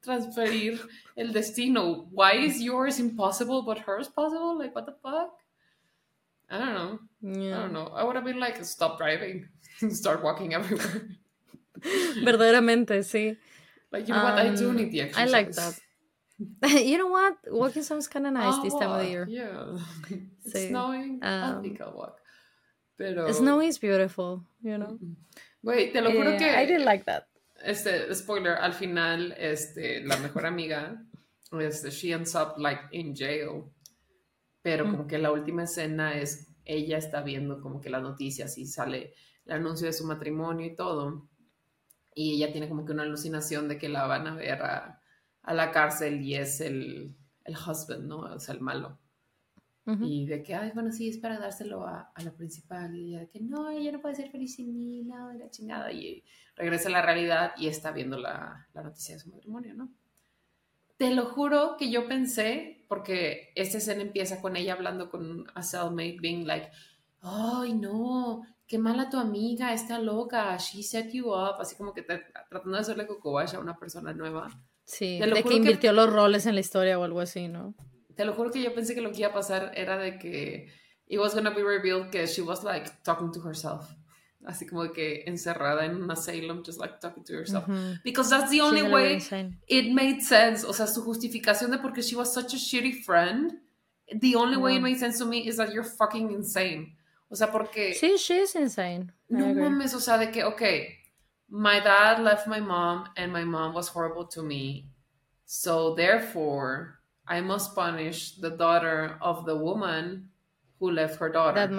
transferir el destino. Why is yours impossible but hers possible? Like, what the fuck? I don't know. I don't know. I would have been like, stop driving. Start walking everywhere. Verdaderamente, sí. Like, you know what? I do need the exercise. I like that. You know what? Walking sounds kind of nice this time of the year. Yeah. It's Sí. snowing. I think I'll walk. Pero... Snow is beautiful, you know. Güey, te lo juro que... I didn't like that. Spoiler, al final, la mejor amiga, she ends up, like, in jail. Pero como que la última escena es, ella está viendo como que las noticias y sale el anuncio de su matrimonio y todo. Y ella tiene como que una alucinación de que la van a ver a la cárcel y es el husband, ¿no? O sea, el malo. Y de que, ay, bueno, sí, es para dárselo a la principal. Y ella de que, no, ella no puede ser feliz sin mí, no, de la chingada. Y regresa a la realidad y está viendo la noticia de su matrimonio, ¿no? Te lo juro que yo pensé, porque esta escena empieza con ella hablando con a cellmate, being like, ay, no, qué mala tu amiga, está loca, she set you up, así como que tratando de hacerle cocobash a una persona nueva. Sí, de que invirtió los roles en la historia o algo así, ¿no? Te lo juro que yo pensé que lo que iba a pasar era de que it was gonna be revealed que she was like talking to herself. Así como que encerrada en un asylum, just like talking to herself. Because that's the only way it made sense. O sea, su justificación de porque she was such a shitty friend, the only way it made sense to me is that you're fucking insane. O sea, porque... Sí, she is insane. No mames, o sea, de que, okay, my dad left my mom and my mom was horrible to me. So therefore, I must punish the daughter of the woman who left her daughter.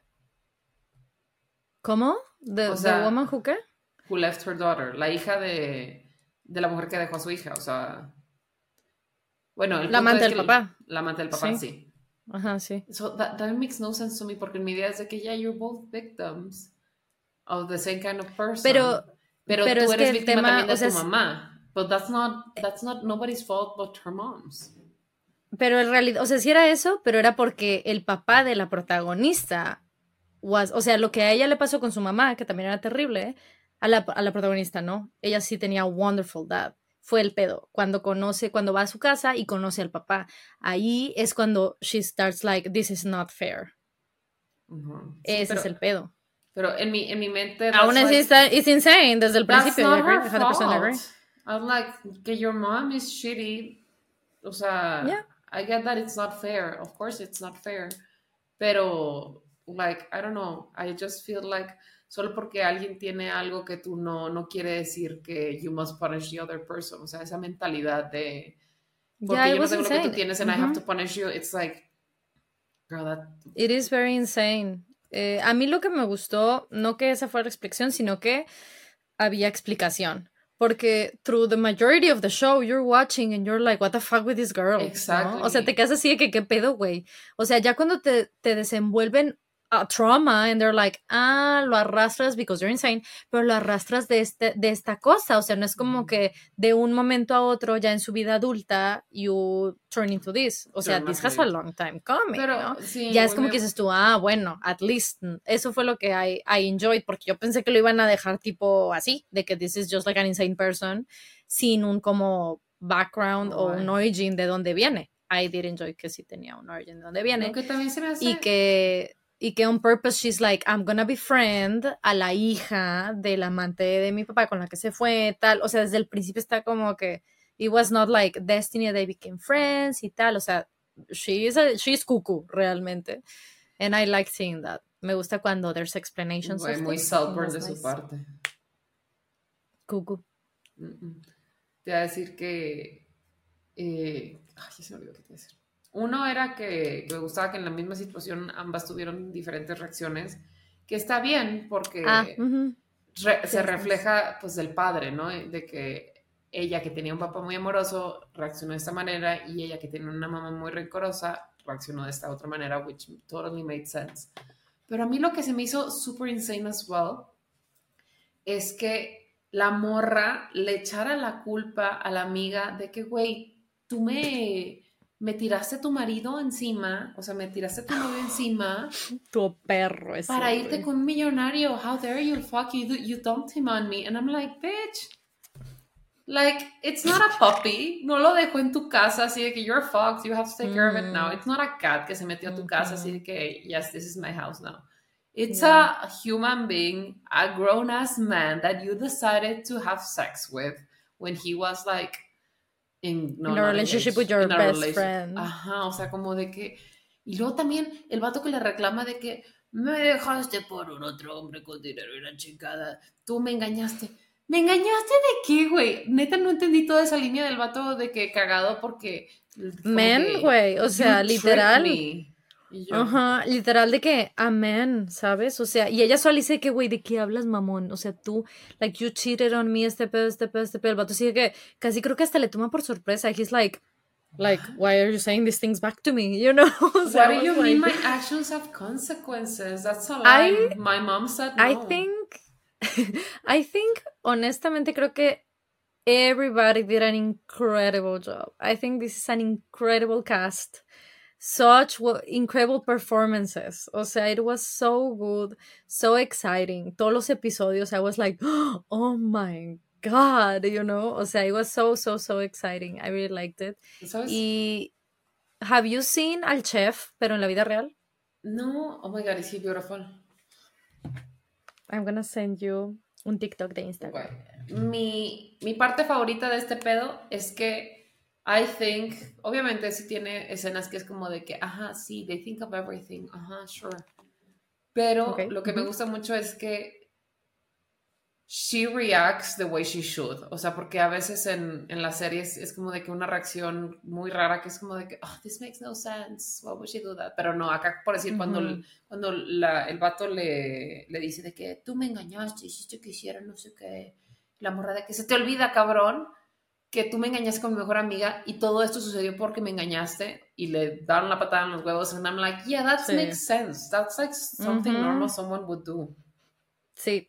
¿Cómo? The woman who qué? Who left her daughter. La hija de la mujer que dejó a su hija. O sea... Bueno, la amante del papá. La amante del papá, sí. Ajá, sí. So that makes no sense to me, porque mi idea es de que you're both victims of the same kind of person. Pero tú eres víctima también de tu mamá. But that's not nobody's fault but her mom's. Pero en realidad, o sea, sí era eso, pero era porque el papá de la protagonista o sea, lo que a ella le pasó con su mamá, que también era terrible, a la protagonista, ¿no? Ella sí tenía wonderful dad. Fue el pedo. Cuando va a su casa y conoce al papá. Ahí es cuando she starts like, this is not fair. Ese es el pedo. Pero en mi mente... Aún así it's insane desde el principio. That's not her fault. I'm like, que your mom is shitty. O sea, yeah. I get that it's not fair. Of course it's not fair. Pero... like, I don't know, I just feel like solo porque alguien tiene algo que tú no quiere decir que you must punish the other person. O sea, esa mentalidad de porque yo no tengo lo que tú tienes and I have to punish you, it's like, girl, that... It is very insane. A mí lo que me gustó, no que esa fuera la explicación, sino que había explicación. Porque through the majority of the show, you're watching and you're like, what the fuck with this girl? Exactly. ¿No? O sea, te quedas así de que, ¿qué pedo, güey? O sea, ya cuando te desenvuelven a trauma and they're like, lo arrastras because you're insane, pero lo arrastras de esta cosa, o sea, no es como que de un momento a otro ya en su vida adulta you turn into this, o sea, this has a long time coming, pero, ¿no? Sí, ya es como que dices tú, bueno, at least, eso fue lo que I enjoyed, porque yo pensé que lo iban a dejar tipo así, de que this is just like an insane person, sin un como background o un origin de dónde viene. I did enjoy que sí tenía un origin de dónde viene. Lo que también se me hace... Y que on purpose she's like, I'm gonna befriend a la hija del amante de mi papá con la que se fue, tal. O sea, desde el principio está como que it was not like destiny, they became friends y tal. O sea, she's cuckoo, realmente. And I like seeing that. Me gusta cuando there's explanations. Muy Saltburn de su parte. Cuckoo. Te voy a decir que... ya se me olvidó qué te iba a decir. Uno era que me gustaba que en la misma situación ambas tuvieron diferentes reacciones, que está bien porque se refleja pues del padre, ¿no? De que ella que tenía un papá muy amoroso reaccionó de esta manera y ella que tenía una mamá muy rencorosa reaccionó de esta otra manera, which totally made sense. Pero a mí lo que se me hizo super insane as well es que la morra le echara la culpa a la amiga de que, güey, tú me tiraste tu marido encima, o sea, me tiraste tu novio encima. Tu perro ese. Para irte con un millonario. How dare you, fuck, you dumped him on me. And I'm like, bitch. Like, it's not a puppy. No lo dejo en tu casa así de que you're fucked, you have to take care of it now. It's not a cat que se metió a tu casa así de que, yes, this is my house now. It's a human being, a grown ass man that you decided to have sex with when he was like in a relationship with your best friend. Ajá, o sea, como de que. Y luego también el vato que le reclama de que me dejaste por un otro hombre con dinero y la chingada. Tú me engañaste. ¿Me engañaste de qué, güey? Neta no entendí toda esa línea del vato de que cagado porque... Men, güey, o sea, literal. Ajá, literal de que, amén, ¿sabes? O sea, y ella solo dice que, güey, ¿de qué hablas, mamón? O sea, tú, like, you cheated on me, este pedo. El vato sigue que casi creo que hasta le toma por sorpresa. He's like, why are you saying these things back to me? You know? O sea, what do you mean my actions have consequences? That's a lie. My mom said no. I think, honestamente, creo que everybody did an incredible job. I think this is an incredible cast. Such incredible performances. O sea, it was so good, so exciting. Todos los episodios, I was like, oh my God, you know? O sea, it was so exciting. I really liked it. ¿Sabes? Y, have you seen al chef, pero en la vida real? No. Oh my God, is he beautiful? I'm gonna send you un TikTok de Instagram. Okay. Mi parte favorita de este pedo es que I think, obviamente sí tiene escenas que es como de que, ajá, sí, they think of everything, ajá, sure. Pero lo que me gusta mucho es que she reacts the way she should. O sea, porque a veces en las series es como de que una reacción muy rara que es como de que, oh, this makes no sense, why would she do that? Pero no, acá por decir, cuando el vato le dice de que tú me engañaste, hiciste que hiciera no sé qué, la morra de que se te olvida, cabrón, que tú me engañaste con mi mejor amiga y todo esto sucedió porque me engañaste y le daron la patada en los huevos and I'm like, yeah, that makes sense. That's like something normal someone would do. Sí.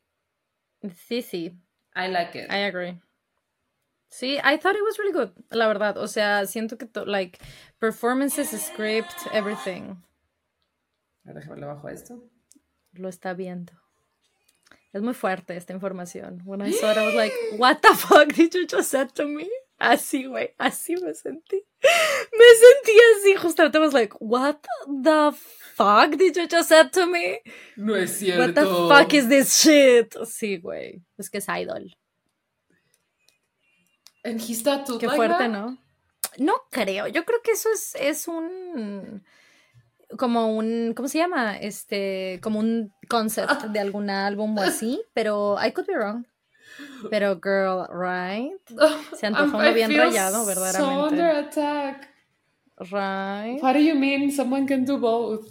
I like it. I agree. Sí, I thought it was really good, la verdad. O sea, siento que like performances, script, everything. Déjame le bajo esto. Lo está viendo. Es muy fuerte esta información. When I saw it, I was like, what the fuck did you just say to me? Así, güey, así me sentí. Me sentí así, justamente I was like, what the fuck did you just say to me? No es cierto. What the fuck is this shit? Sí, güey. Es que es idol. And he's tattooed Qué like fuerte, that? ¿no? No creo. Yo creo que eso es un... como un, ¿cómo se llama? Como un concept de algún álbum o así, pero I could be wrong. Pero girl, right? Se antoja uno bien rayado, verdaderamente. So under attack. Right? What do you mean someone can do both?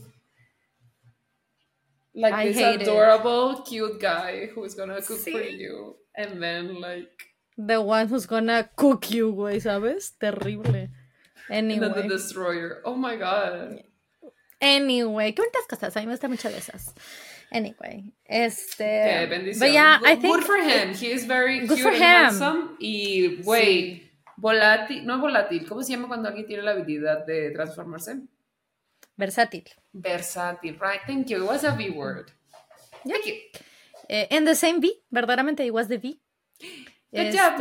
Like I this hate adorable, cute guy who's gonna cook for you. And then like... The one who's gonna cook you, güey, ¿sabes? Terrible. Anyway. And then the destroyer. Oh my God. Anyway, qué bonitas cosas. A mí me gustan muchas de esas. Anyway, Qué bendición. But yeah, I think good for him. He is very good cute for and him. handsome. Y, güey, volátil, no volátil. ¿Cómo se llama cuando alguien tiene la habilidad de transformarse? Versátil. Versátil, right? Thank you. It was a V word. Yeah. Thank you. And the same V, verdaderamente, it was the V. Good job,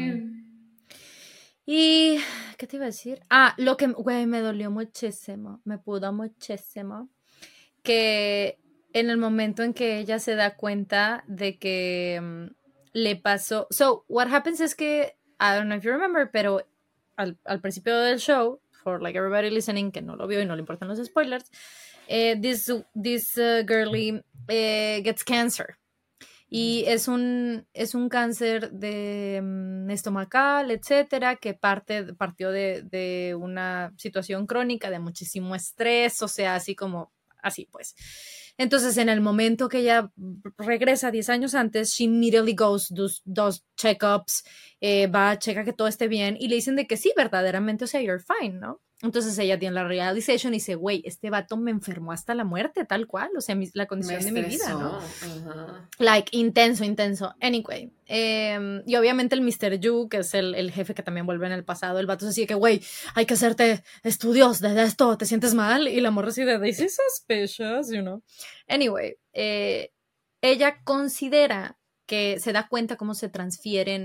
y ¿qué te iba a decir? Lo que, güey, me dolió muchísimo, me pudo muchísimo, que en el momento en que ella se da cuenta de que le pasó, so what happens es que, I don't know if you remember, pero al principio del show, for like everybody listening que no lo vio y no le importan los spoilers, this girlie gets cancer. Y es un cáncer de estomacal, etcétera, que partió de una situación crónica de muchísimo estrés, o sea, así pues. Entonces, en el momento que ella regresa 10 años antes, she immediately goes, does checkups, checa que todo esté bien, y le dicen de que sí, verdaderamente, o sea, you're fine, ¿no? Entonces ella tiene la realization y dice, güey, este vato me enfermó hasta la muerte, tal cual, o sea, la condición de mi vida, ¿no? Like, intenso. Anyway, y obviamente el Mr. Yu, que es el jefe que también vuelve en el pasado, el vato se dice que, güey, hay que hacerte estudios de esto, ¿te sientes mal? Y la morra así de, this is suspicious, you know. Anyway, ella considera que se da cuenta cómo se transfieren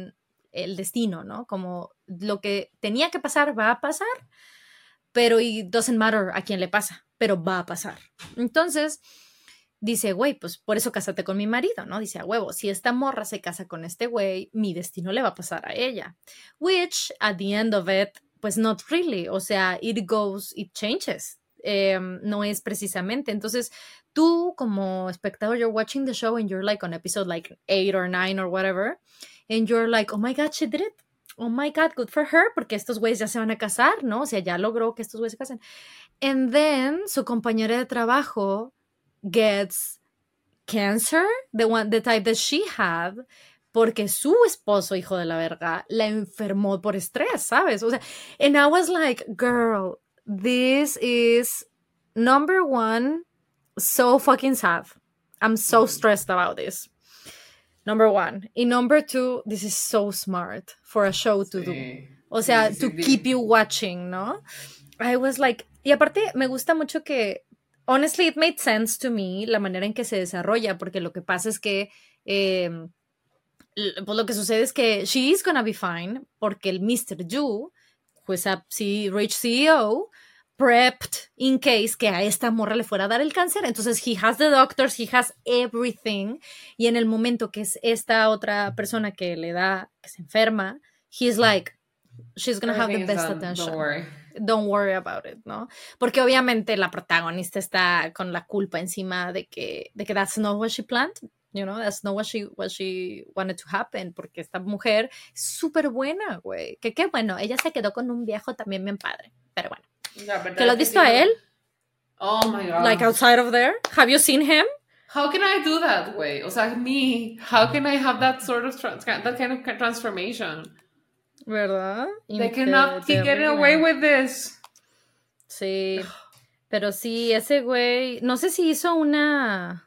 el destino, ¿no? Como lo que tenía que pasar va a pasar, pero it doesn't matter a quién le pasa, pero va a pasar. Entonces dice, güey, pues por eso cásate con mi marido, ¿no? Dice, a huevo, si esta morra se casa con este güey, mi destino le va a pasar a ella. Which, at the end of it, pues not really. O sea, it goes, it changes. No es precisamente. Entonces, tú como espectador, you're watching the show and you're like on episode like 8 or 9 or whatever, and you're like, oh my God, she did it. Oh my God, good for her, porque estos güeyes ya se van a casar, ¿no? O sea, ya logró que estos güeyes se casen. And then, su compañera de trabajo gets cancer, the type that she had, porque su esposo, hijo de la verga, la enfermó por estrés, ¿sabes? O sea, and I was like, girl, this is number one, so fucking sad. I'm so stressed about this. Number one. Y number two, this is so smart for a show to do. O sea, to keep you watching, ¿no? I was like, y aparte me gusta mucho que, honestly, it made sense to me la manera en que se desarrolla, porque lo que pasa es que, pues lo que sucede es que she is gonna be fine, porque el Mr. Yu, who is a rich CEO, prepped in case que a esta morra le fuera a dar el cáncer. Entonces, he has the doctors, he has everything. Y en el momento que es esta otra persona que le da, que se enferma, he's like, she's gonna have the best attention. Don't worry about it, ¿no? Porque obviamente la protagonista está con la culpa encima de que that's not what she planned, you know, that's not what she wanted to happen, porque esta mujer es súper buena, güey. Que qué bueno, ella se quedó con un viejo también bien padre, pero bueno. Yeah, ¿que lo has visto a él? Oh my God. Like outside of there? Have you seen him? How can I do that, güey? O sea, me, how can I have that sort of, that kind of transformation? ¿Verdad? They cannot keep getting away with this. Sí, pero sí, ese güey, no sé si hizo una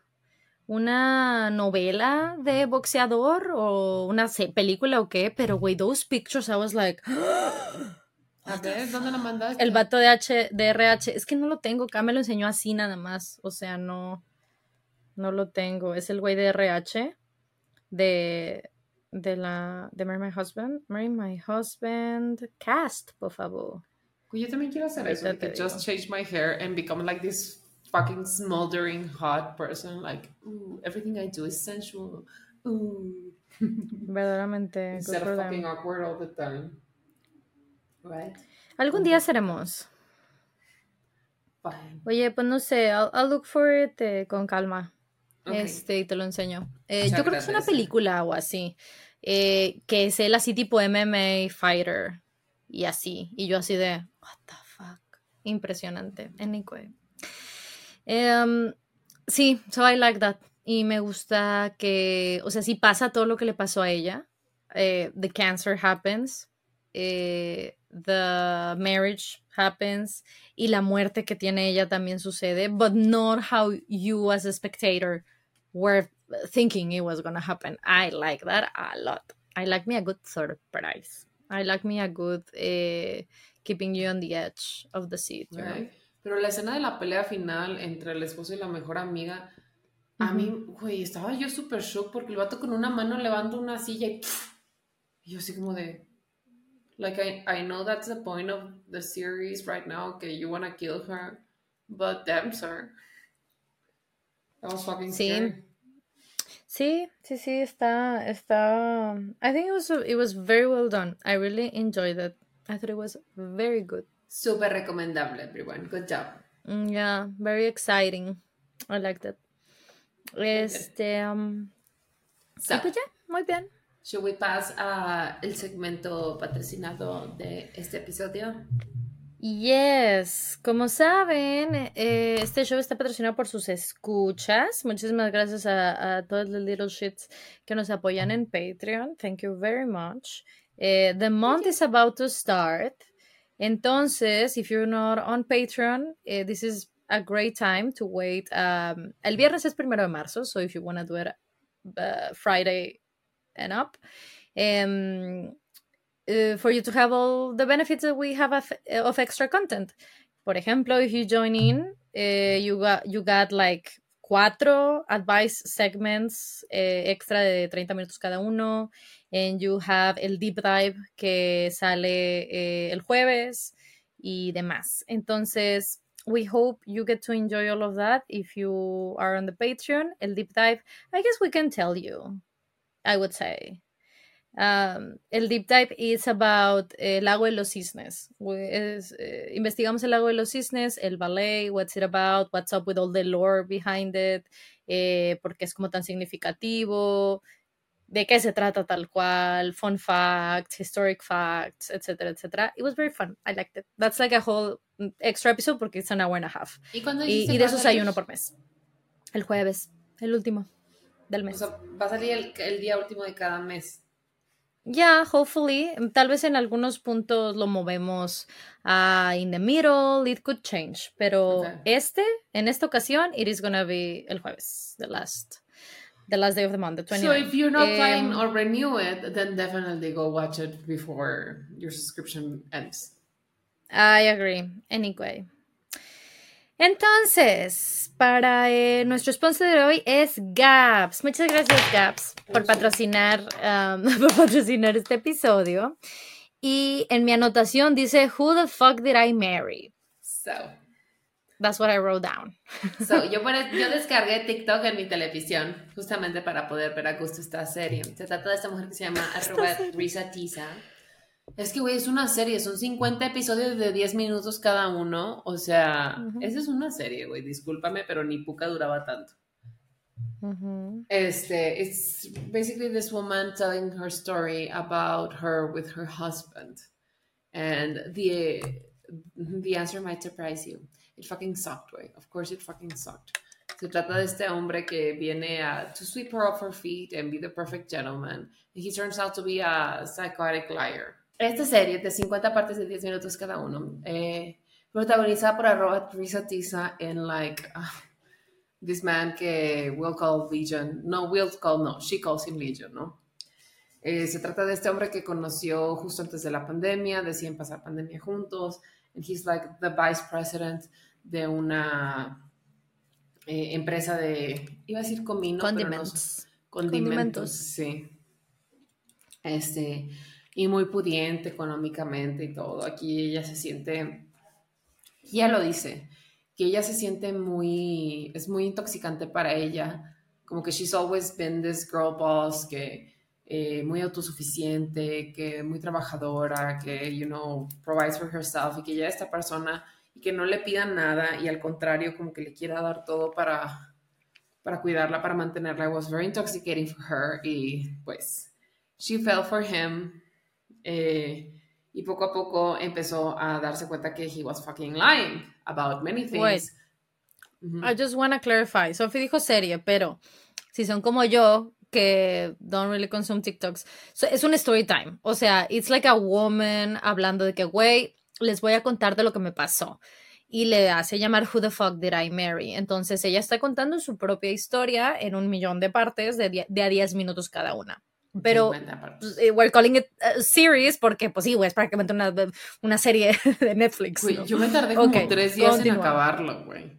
novela de boxeador o una película o qué, pero güey, those pictures, I was like... A ver, ¿dónde lo mandaste? El vato de RH, es que no lo tengo, acá me lo enseñó así nada más, o sea, no lo tengo, es el güey de RH, de Marry My Husband, cast, por favor. Yo también quiero hacer eso, que just change my hair and become like this fucking smoldering hot person, like, ooh, everything I do is sensual, ooh. Verdaderamente. Instead of fucking awkward all the time. Right? Algún día seremos. Fine. Oye, pues no sé, I'll look for it con calma. Okay. Y te lo enseño. Yo creo que es una película o así. Que es él así tipo MMA fighter. Y así. Y yo así de, what the fuck. Impresionante. Anyway. Sí, so I like that. Y me gusta que, o sea, si pasa todo lo que le pasó a ella. The cancer happens. The marriage happens y la muerte que tiene ella también sucede, but not how you as a spectator were thinking it was gonna happen. I like that a lot. I like me a good surprise. I like me a good keeping you on the edge of the seat. Right. Pero la escena de la pelea final entre el esposo y la mejor amiga, a mí, güey, estaba yo súper shock porque el vato con una mano levanta una silla y yo así como de... Like, I know that's the point of the series right now, okay, you want to kill her, but damn, sir. That was fucking scary. Sí, está... I think it was very well done. I really enjoyed it. I thought it was very good. Super recomendable, everyone. Good job. Yeah, very exciting. I liked it. So, y pues ya, muy bien. Should we pass el segmento patrocinado de este episodio? Yes, como saben, este show está patrocinado por sus escuchas. Muchísimas gracias a todos los little shits que nos apoyan en Patreon. Thank you very much. The month is about to start. Entonces, if you're not on Patreon, this is a great time to wait. El viernes es 1 de marzo, so if you want to do it Friday and up, for you to have all the benefits that we have of extra content. Por ejemplo, if you join in, you got like 4 advice segments extra de 30 minutos cada uno. And you have el deep dive que sale el jueves y demás. Entonces, we hope you get to enjoy all of that if you are on the Patreon. El deep dive, I guess we can tell you, I would say. El deep dive is about el lago de los cisnes. Investigamos el lago de los cisnes, el ballet, what's it about, what's up with all the lore behind it, por qué es como tan significativo, de qué se trata tal cual, fun facts, historic facts, etcétera, etcétera. It was very fun. I liked it. That's like a whole extra episode porque it's an hour and a half. ¿Y cuándo Y de esos hay uno por mes. El jueves, el último del mes. O sea, va a salir el día último de cada mes. Yeah, hopefully. Tal vez en algunos puntos lo movemos in the middle. It could change. Pero en esta ocasión, it is gonna be el jueves, the last day of the month, the 29th. So if you're not planning or renew it, then definitely go watch it before your subscription ends. I agree. Anyway. Entonces, para nuestro sponsor de hoy es Gaps. Muchas gracias, Gaps, por patrocinar este episodio. Y en mi anotación dice, Who the fuck did I marry? So, that's what I wrote down. So, yo descargué TikTok en mi televisión justamente para poder ver a gusto esta serie. Se trata de esta mujer que se llama Risa Tiza. Es que, güey, es una serie, son 50 episodios de 10 minutos cada uno, o sea, esa es una serie, güey, discúlpame, pero ni Puka duraba tanto. It's basically this woman telling her story about her with her husband, and the answer might surprise you. It fucking sucked, güey, of course it fucking sucked. Se trata de este hombre que viene to sweep her off her feet and be the perfect gentleman, and he turns out to be a psychotic liar. Esta serie de 50 partes de 10 minutos cada uno, protagonizada por Risa Tiza en this man que we'll call Legion. She calls him Legion, ¿no? Se trata de este hombre que conoció justo antes de la pandemia, deciden pasar pandemia juntos, and he's like the vice president de una empresa iba a decir comino, Condimentos. Pero no, condimentos, sí. Y muy pudiente económicamente y todo. Aquí ella se siente, ella lo dice, que ella se siente es muy intoxicante para ella, como que she's always been this girl boss, que muy autosuficiente, que muy trabajadora, que, provides for herself, y que ella es esta persona y que no le pidan nada y al contrario, como que le quiera dar todo para cuidarla, para mantenerla. It was very intoxicating for her y pues she fell for him. Y poco a poco empezó a darse cuenta que he was fucking lying about many things. Wait. I just want to clarify. Sophie dijo serie, pero si son como yo, que don't really consume TikToks, es un story time. O sea, it's like a woman hablando de que, güey, les voy a contar de lo que me pasó. Y le hace llamar Who the fuck did I marry? Entonces ella está contando su propia historia en 1,000,000 de partes de a 10 minutos cada una. Pero we're calling it a series porque, pues sí, güey, es prácticamente una serie de Netflix. Güey, ¿no? Yo me tardé como 3 días en acabarlo, güey.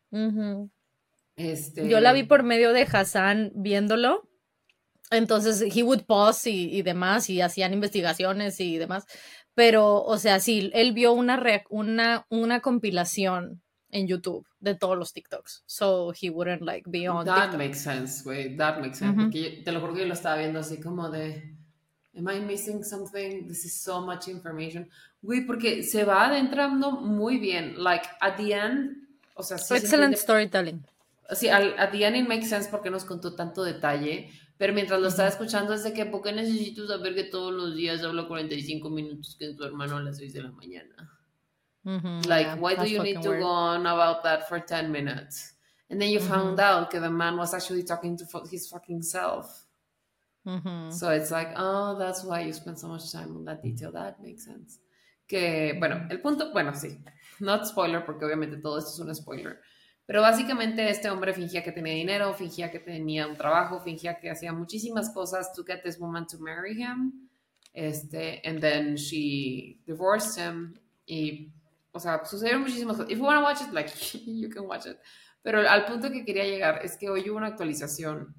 Yo la vi por medio de Hassan viéndolo. Entonces, he would pause y demás, y hacían investigaciones y demás. Pero, o sea, sí, él vio una compilación en YouTube de todos los TikToks. So he wouldn't be on That TikTok. makes sense, güey. That makes sense. Porque te lo juro que yo lo estaba viendo así como de, am I missing something? This is so much information. Güey, porque se va adentrando muy bien. At the end, o sea, sí. Excellent storytelling. Sí, at the end it makes sense porque nos contó tanto detalle. Pero mientras lo estaba escuchando es de que, ¿por qué necesito saber que todos los días hablo 45 minutos que en tu hermano a las 6 de la mañana? Why do you need to go on about that for 10 minutes? And then you found out that the man was actually talking to his fucking self. So it's like, oh, that's why you spend so much time on that detail. That makes sense. Que, bueno, el punto, sí, not spoiler, porque obviamente todo esto es un spoiler. Pero básicamente este hombre fingía que tenía dinero, fingía que tenía un trabajo, fingía que hacía muchísimas cosas to get this woman to marry him. And then she divorced him. Y, o sea, sucedieron muchísimas cosas. If you want to watch it, you can watch it. Pero al punto que quería llegar es que hoy hubo una actualización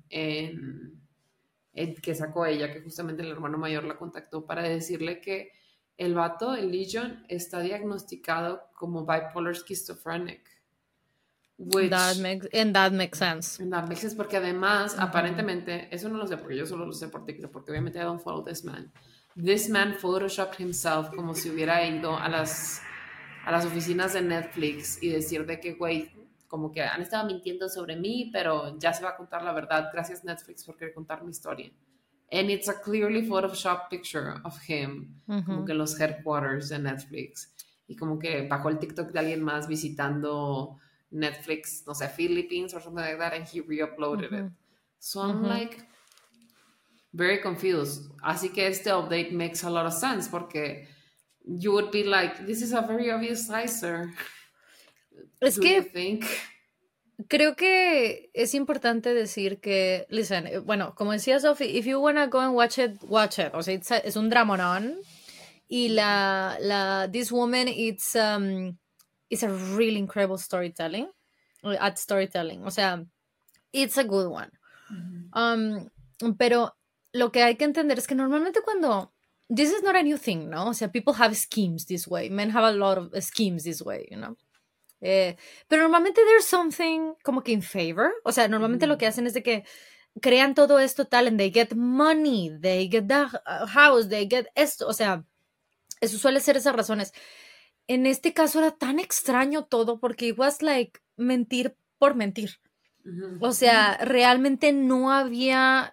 que sacó ella, que justamente el hermano mayor la contactó para decirle que el vato, el Legion, está diagnosticado como bipolar schizophrenic, which that makes sense. en that makes sense porque además, aparentemente, eso no lo sé porque yo solo lo sé por TikTok, porque obviamente I don't follow this man. This man photoshopped himself como si hubiera ido a las oficinas de Netflix y decir de que, güey, como que han estado mintiendo sobre mí, pero ya se va a contar la verdad. Gracias Netflix por querer contar mi historia. And it's a clearly Photoshop picture of him, como que en los headquarters de Netflix. Y como que bajó el TikTok de alguien más visitando Netflix, no sé, Philippines or something like that, and he re-uploaded it. So I'm like very confused. Así que este update makes a lot of sense porque you would be like, this is a very obvious slicer. Es Do que you think? creo que es importante decir que, listen, bueno, como decía Sophie, if you wanna go and watch it, watch it. O sea, es un dramonón. Y this woman, it's a really incredible storytelling, at storytelling. O sea, it's a good one. Pero lo que hay que entender es que normalmente cuando, this is not a new thing, ¿no? O sea, people have schemes this way. Men have a lot of schemes this way, you know? Pero normalmente there's something como que in favor. O sea, normalmente lo que hacen es de que crean todo esto tal, and they get money, they get the house, they get esto. O sea, eso suele ser esas razones. En este caso era tan extraño todo porque it was like mentir por mentir. O sea, realmente no había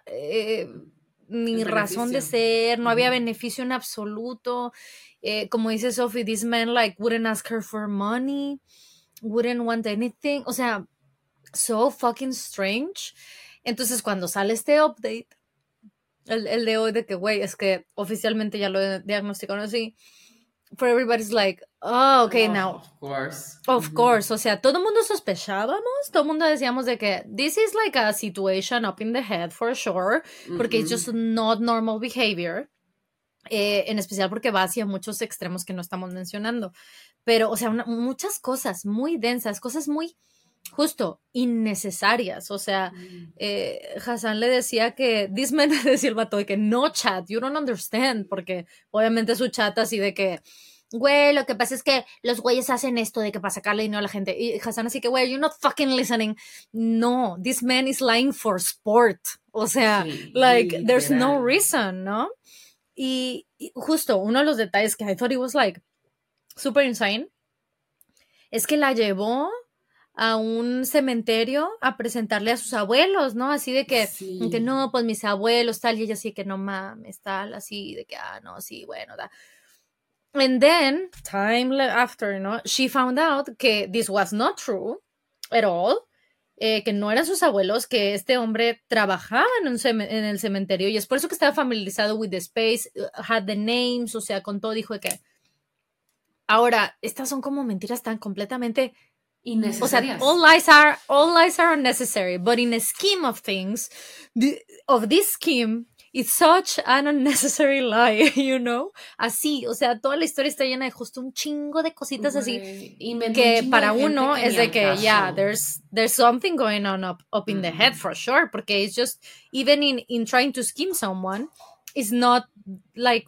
ni razón de ser, no había beneficio en absoluto. Como dice Sophie, this man like wouldn't ask her for money, wouldn't want anything. O sea, so fucking strange. Entonces, cuando sale este update, el de hoy de que, güey, es que oficialmente ya lo diagnosticaron así, for everybody's like, oh, okay, now. Of course. O sea, todo el mundo sospechábamos, todo el mundo decíamos de que this is like a situation up in the head for sure, porque it's just not normal behavior, en especial porque va hacia muchos extremos que no estamos mencionando. Pero, o sea, muchas cosas muy densas, cosas muy justo innecesarias. O sea, Hassan le decía que this man le decía el vato de que no chat, you don't understand, porque obviamente su chat así de que, güey, lo que pasa es que los güeyes hacen esto de que para sacarle dinero a la gente. Y Hassan así que, güey, you're not fucking listening. No, this man is lying for sport. O sea, sí, like, there's no reason, ¿no? Y justo uno de los detalles que I thought it was like super insane es que la llevó a un cementerio a presentarle a sus abuelos, ¿no? Así de que, sí, que no, pues mis abuelos, tal, y ella así que no mames, tal, así de que, no, sí, bueno, da. And then, time after, ¿no? She found out que this was not true at all, que no eran sus abuelos, que este hombre trabajaba en el cementerio y es por eso que estaba familiarizado with the space, had the names, o sea, con todo, dijo que... Ahora, estas son como mentiras tan completamente innecesarias. O sea, all lies are unnecessary, but in a scheme of things, of this scheme, it's such an unnecessary lie, you know? Así, o sea, toda la historia está llena de justo un chingo de cositas así que para uno es de que, yeah, there's something going on up in the head for sure, porque it's just, even in trying to scheme someone, it's not like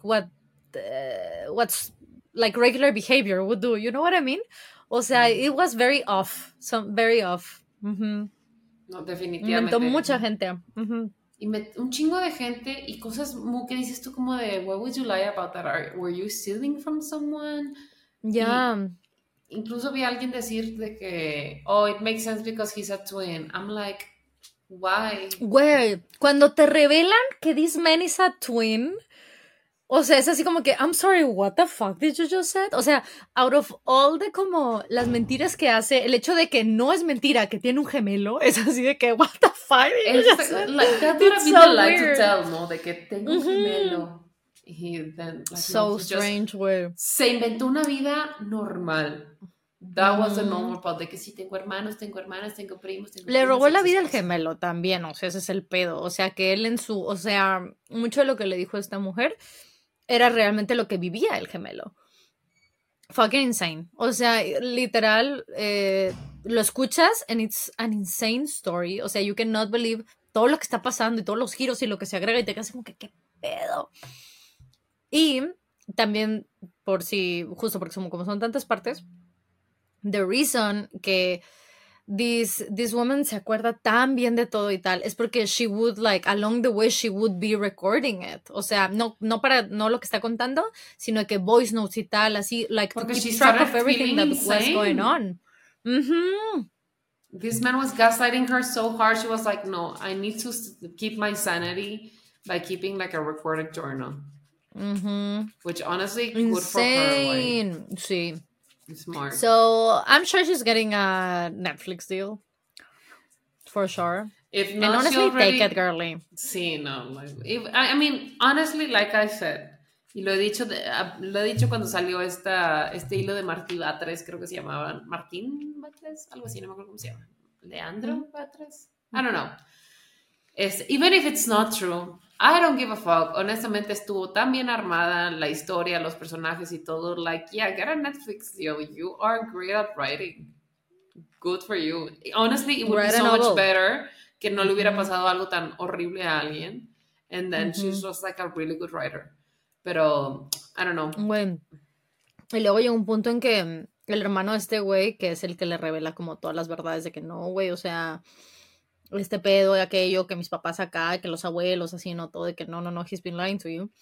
what's like regular behavior would do, you know what I mean? O sea, it was very off, very off. No, definitivamente. Inventó mucha gente. Un chingo de gente y cosas muy que dices tú como de, what would you lie about that? Were you stealing from someone? Yeah. Incluso vi a alguien decir de que, oh, it makes sense because he's a twin. I'm like, why? Güey, cuando te revelan que this man is a twin... O sea, es así como que, I'm sorry, what the fuck did you just say? O sea, out of all de como las mentiras que hace, el hecho de que no es mentira, que tiene un gemelo, es así de que, what the fuck did you just say? Like, that would have been the lie to tell, ¿no? De que tengo un gemelo. Y then, like, so no, strange, güey. Se inventó una vida normal. That was the normal part, de que sí, tengo hermanos, tengo hermanas, tengo primos, tengo Le robó la vida al gemelo también, o sea, ese es el pedo. O sea, que él o sea, mucho de lo que le dijo a esta mujer era realmente lo que vivía el gemelo. Fucking insane. O sea, literal, lo escuchas and it's an insane story. O sea, you cannot believe todo lo que está pasando y todos los giros y lo que se agrega y te quedas como que, ¿qué pedo? Y también, por si, justo porque como son tantas partes, the reason que this woman se acuerda tan bien de todo y tal es porque she would, like, along the way, she would be recording it. O sea, no lo que está contando, sino que voice notes y tal, así, like, Porque to she keep track started of everything that feeling was going insane. on. Mm-hmm. This man was gaslighting her so hard. She was like, no, I need to keep my sanity by keeping like a recorded journal. Mm-hmm. Which honestly, Insane. good for her. Like, sí. Smart. So I'm sure she's getting a Netflix deal. For sure. If not, and honestly, she already... take it, girly. Sí, no. Like, I mean, honestly, like I said, y lo he dicho cuando salió este hilo de Martí Batres, creo que se llamaba Martín Batres, algo así, no me acuerdo cómo se llama. Leandro Batres? I don't know. Even if it's not true, I don't give a fuck. Honestamente, estuvo tan bien armada la historia, los personajes y todo. Like, yeah, get a Netflix deal. You are great at writing. Good for you. Honestly, it would be so much better que no le hubiera pasado algo tan horrible a alguien. And then she's just like a really good writer. Pero, I don't know. Güey. Y luego llega un punto en que el hermano de este güey, que es el que le revela como todas las verdades de que no, güey, o sea, este pedo de aquello, que mis papás acá, que los abuelos, así, no, todo, de que no, he's been lying to you.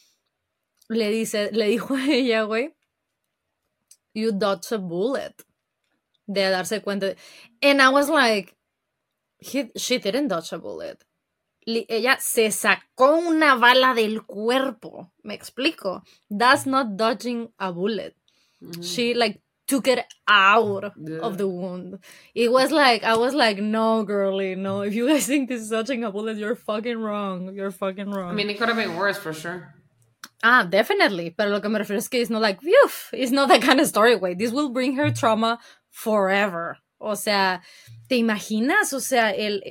Le dijo a ella, güey, you dodged a bullet. De darse cuenta. And I was like, she didn't dodge a bullet. Ella se sacó una bala del cuerpo. Me explico. That's not dodging a bullet. She like took it out of the wound. It was like, I was like, no, girly, no. If you guys think this is dodging a bullet, you're fucking wrong. You're fucking wrong. I mean, it could have been worse for sure. Ah, definitely. Pero lo que me refiero es que it's not like, phew, it's not that kind of story, way. This will bring her trauma forever. O sea, ¿te imaginas? O sea,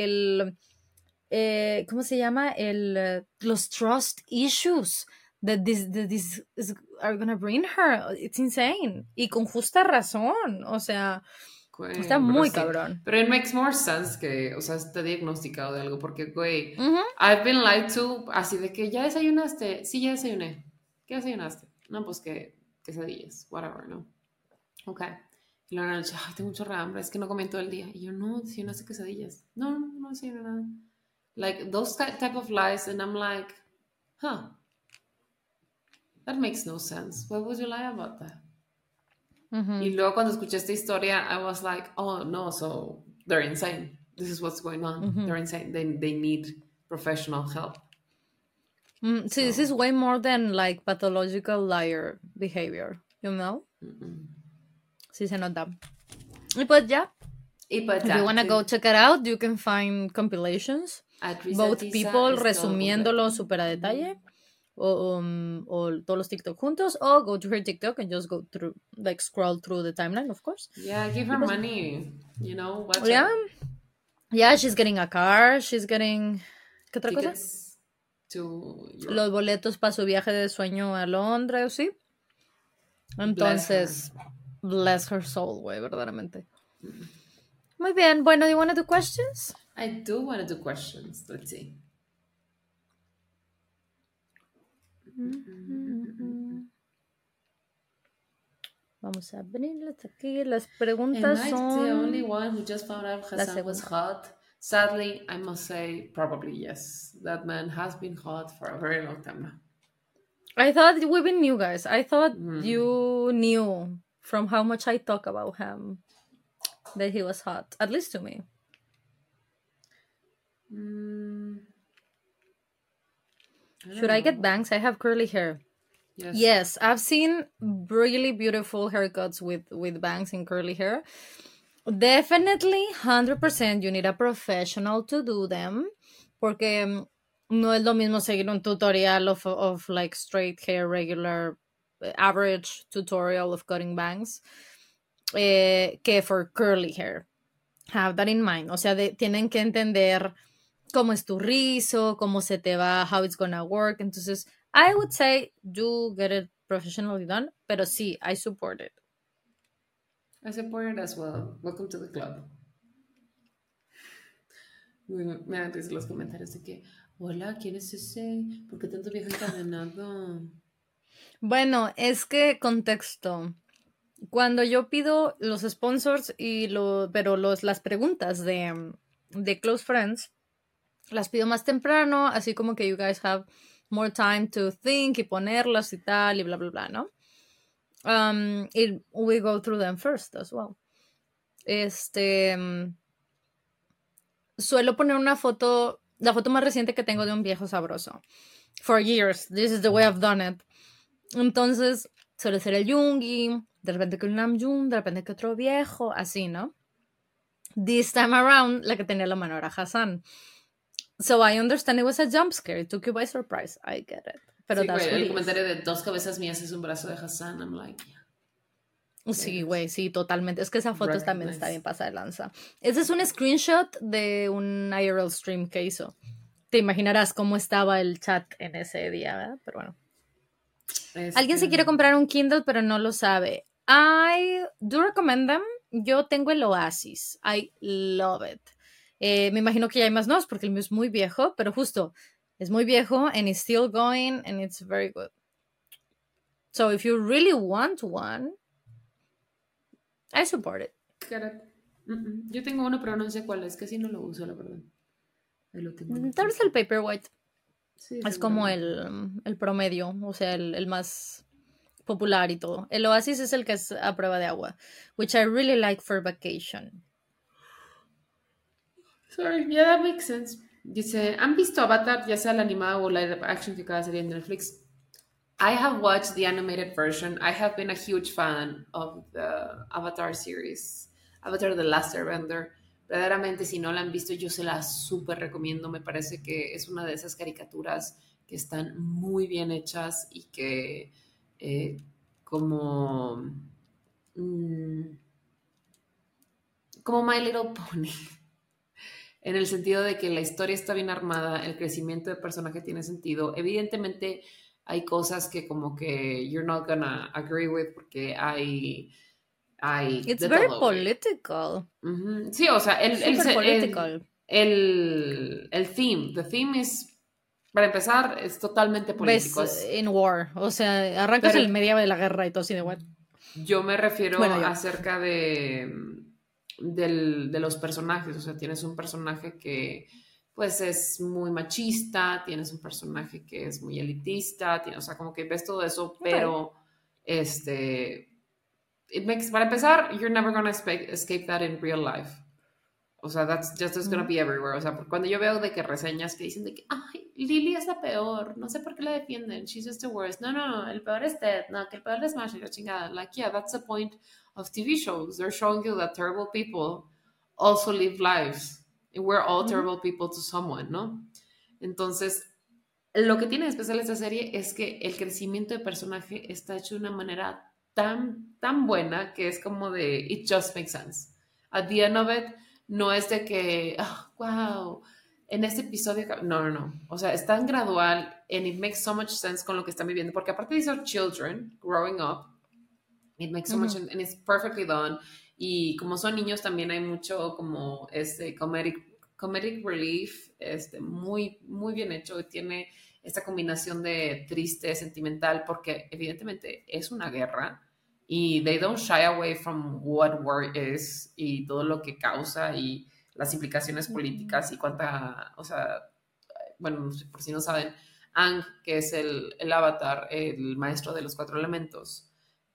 ¿cómo se llama? Los trust issues that this are gonna bring her. It's insane. Y con justa razón. O sea, está muy cabrón. Pero it makes more sense que, o sea, esté diagnosticado de algo. Porque, güey, I've been lied to, así de que ya desayunaste. Sí, ya desayuné. ¿Qué desayunaste? No, pues que quesadillas, whatever, ¿no? Ok. Y luego en la noche, ay, tengo mucho hambre, es que no comí todo el día. Y yo, no desayunaste quesadillas. No desayuné nada. Like, those type of lies, and I'm like, huh, that makes no sense. Why would you lie about that? Y luego cuando escuché esta historia, I was like, oh, no, so they're insane. This is what's going on. They're insane. They need professional help. See, this is way more than like pathological liar behavior, you know? Sí se nota. Y pues ya. If you want to go check it out, you can find compilations. Both people resumiéndolo súper a detalle. O todos los TikTok juntos. O go to her TikTok and just go through, like, scroll through the timeline, of course. Yeah, give her money. You know, watch yeah. her. Yeah, she's getting a car. She's getting... ¿Qué otra cosa? Los boletos para su viaje de sueño a Londres, ¿sí? Entonces, bless her soul, güey, verdaderamente. Muy bien. Bueno, do you want to do questions? I do want to do questions. Let's see. Vamos a abrirles aquí. Las preguntas Am I son... the only one who just found out Hassan was hot? Sadly, I must say probably yes. That man has been hot for a very long time now. I thought we been new, guys. I thought you knew from how much I talk about him that he was hot, at least to me. Should I get bangs? I have curly hair. Yes, I've seen really beautiful haircuts with bangs and curly hair. Definitely, 100% you need a professional to do them. Porque no es lo mismo seguir un tutorial of like straight hair, regular, average tutorial of cutting bangs que for curly hair. Have that in mind. O sea, tienen que entender cómo es tu rizo, cómo se te va, how it's gonna work. Entonces, I would say do get it professionally done, pero sí, I support it. I support it as well. Welcome to the club. Me dan risa los comentarios de que, hola, ¿quién es ese? ¿Por qué tanto viejo encadenado? Bueno, es que contexto. Cuando yo pido los sponsors pero las preguntas de Close Friends, las pido más temprano, así como que you guys have more time to think y ponerlas y tal y bla, bla, bla, ¿no? We go through them first as well. Suelo poner una foto, la foto más reciente que tengo de un viejo sabroso. For years, this is the way I've done it. Entonces, suele ser el Yungi, de repente que un Namjoon, de repente que otro viejo, así, ¿no? This time around, la que tenía la mano era Hassan. So I understand it was a jump scare. It took you by surprise. I get it. Pero sí, that's güey, what el it comentario de 2 cabezas mías es un brazo de Hassan. I'm like, is. Sí, güey, sí, totalmente. Es que esa foto también está bien recognize. pasada de lanza. Ese es un screenshot de un IRL stream que hizo. Te imaginarás cómo estaba el chat en ese día, ¿verdad? Pero bueno. Alguien se quiere comprar un Kindle, pero no lo sabe. I do recommend them. Yo tengo el Oasis. I love it. Me imagino que ya hay más nuevos porque el mío es muy viejo, pero justo es muy viejo and it's still going and it's very good. So if you really want one, I support it. Yo tengo uno, pero no sé cuál es. Casi no lo uso, la verdad. Ahí lo tengo. Tal vez el Paperwhite. Sí, Es como el promedio, o sea, el más popular y todo. El Oasis es el que es a prueba de agua, which I really like for vacation. Sorry, yeah, that makes sense. Dice, ¿han visto Avatar, ya sea la animada o live action que cada serie en Netflix? I have watched the animated version. I have been a huge fan of the Avatar series. Avatar The Last Airbender. Verdaderamente, si no la han visto, yo se la súper recomiendo. Me parece que es una de esas caricaturas que están muy bien hechas y que como... como My Little Pony. En el sentido de que la historia está bien armada, el crecimiento de personaje tiene sentido. Evidentemente hay cosas que como que you're not gonna agree with porque hay It's de very todo, güey. political. Sí, o sea, Super political. el theme, the theme es, para empezar, es totalmente Ves político. Es, in war. O sea, arrancas pero el medio de la guerra y todo así de what. yo me refiero Bueno, yo. acerca de los personajes. O sea, tienes un personaje que pues es muy machista, tienes un personaje que es muy elitista, o sea, como que ves todo eso, Okay. pero para empezar, you're never gonna escape that in real life. O sea, that's just gonna be everywhere. O sea, cuando yo veo de que reseñas que dicen de que, ay, Lily es la peor, no sé por qué la defienden, she's just the worst. No, no, no, el peor es Ted, no, que el peor es Smash y la chingada. Like, yeah, that's the point of TV shows. They're showing you that terrible people also live lives. And we're all terrible people to someone, ¿no? Entonces, lo que tiene de especial esta serie es que el crecimiento de personaje está hecho de una manera tan buena que es como de, it just makes sense. At the end of it, no es de que, oh, wow, en este episodio, no, no, no. O sea, es tan gradual and it makes so much sense con lo que están viviendo, porque aparte these are children growing up, it makes so much sense and it's perfectly done. Y como son niños también hay mucho como comedic relief, muy, muy bien hecho. Tiene esta combinación de triste, sentimental, porque evidentemente es una guerra y they don't shy away from what war is y todo lo que causa y las implicaciones políticas y cuánta, o sea, bueno, por si no saben, Ang, que es el avatar, el maestro de los 4 elementos,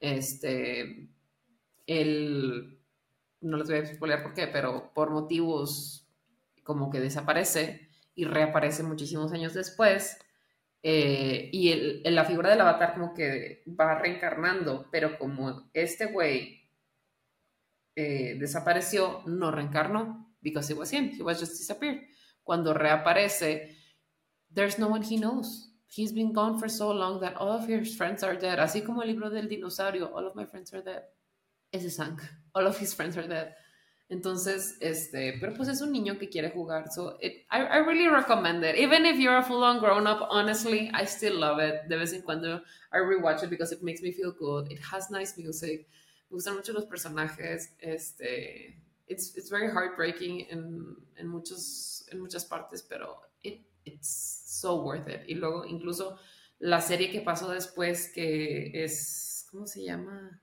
él, no les voy a explicar por qué, pero por motivos como que desaparece y reaparece muchísimos años después. Y la figura del avatar como que va reencarnando, pero como este güey desapareció, no reencarnó, because it was him, he was just disappeared. Cuando reaparece, there's no one he knows. He's been gone for so long that all of his friends are dead. Así como el libro del dinosaurio, all of my friends are dead. Ese Sang, all of his friends are dead. Entonces, pero pues es un niño que quiere jugar. So I really recommend it. Even if you're a full-on grown-up, honestly, I still love it. De vez en cuando I rewatch it because it makes me feel good. It has nice music. Me gustan mucho los personajes. It's very heartbreaking en muchas partes, pero it's so worth it. Y luego incluso la serie que pasó después, que es, ¿cómo se llama?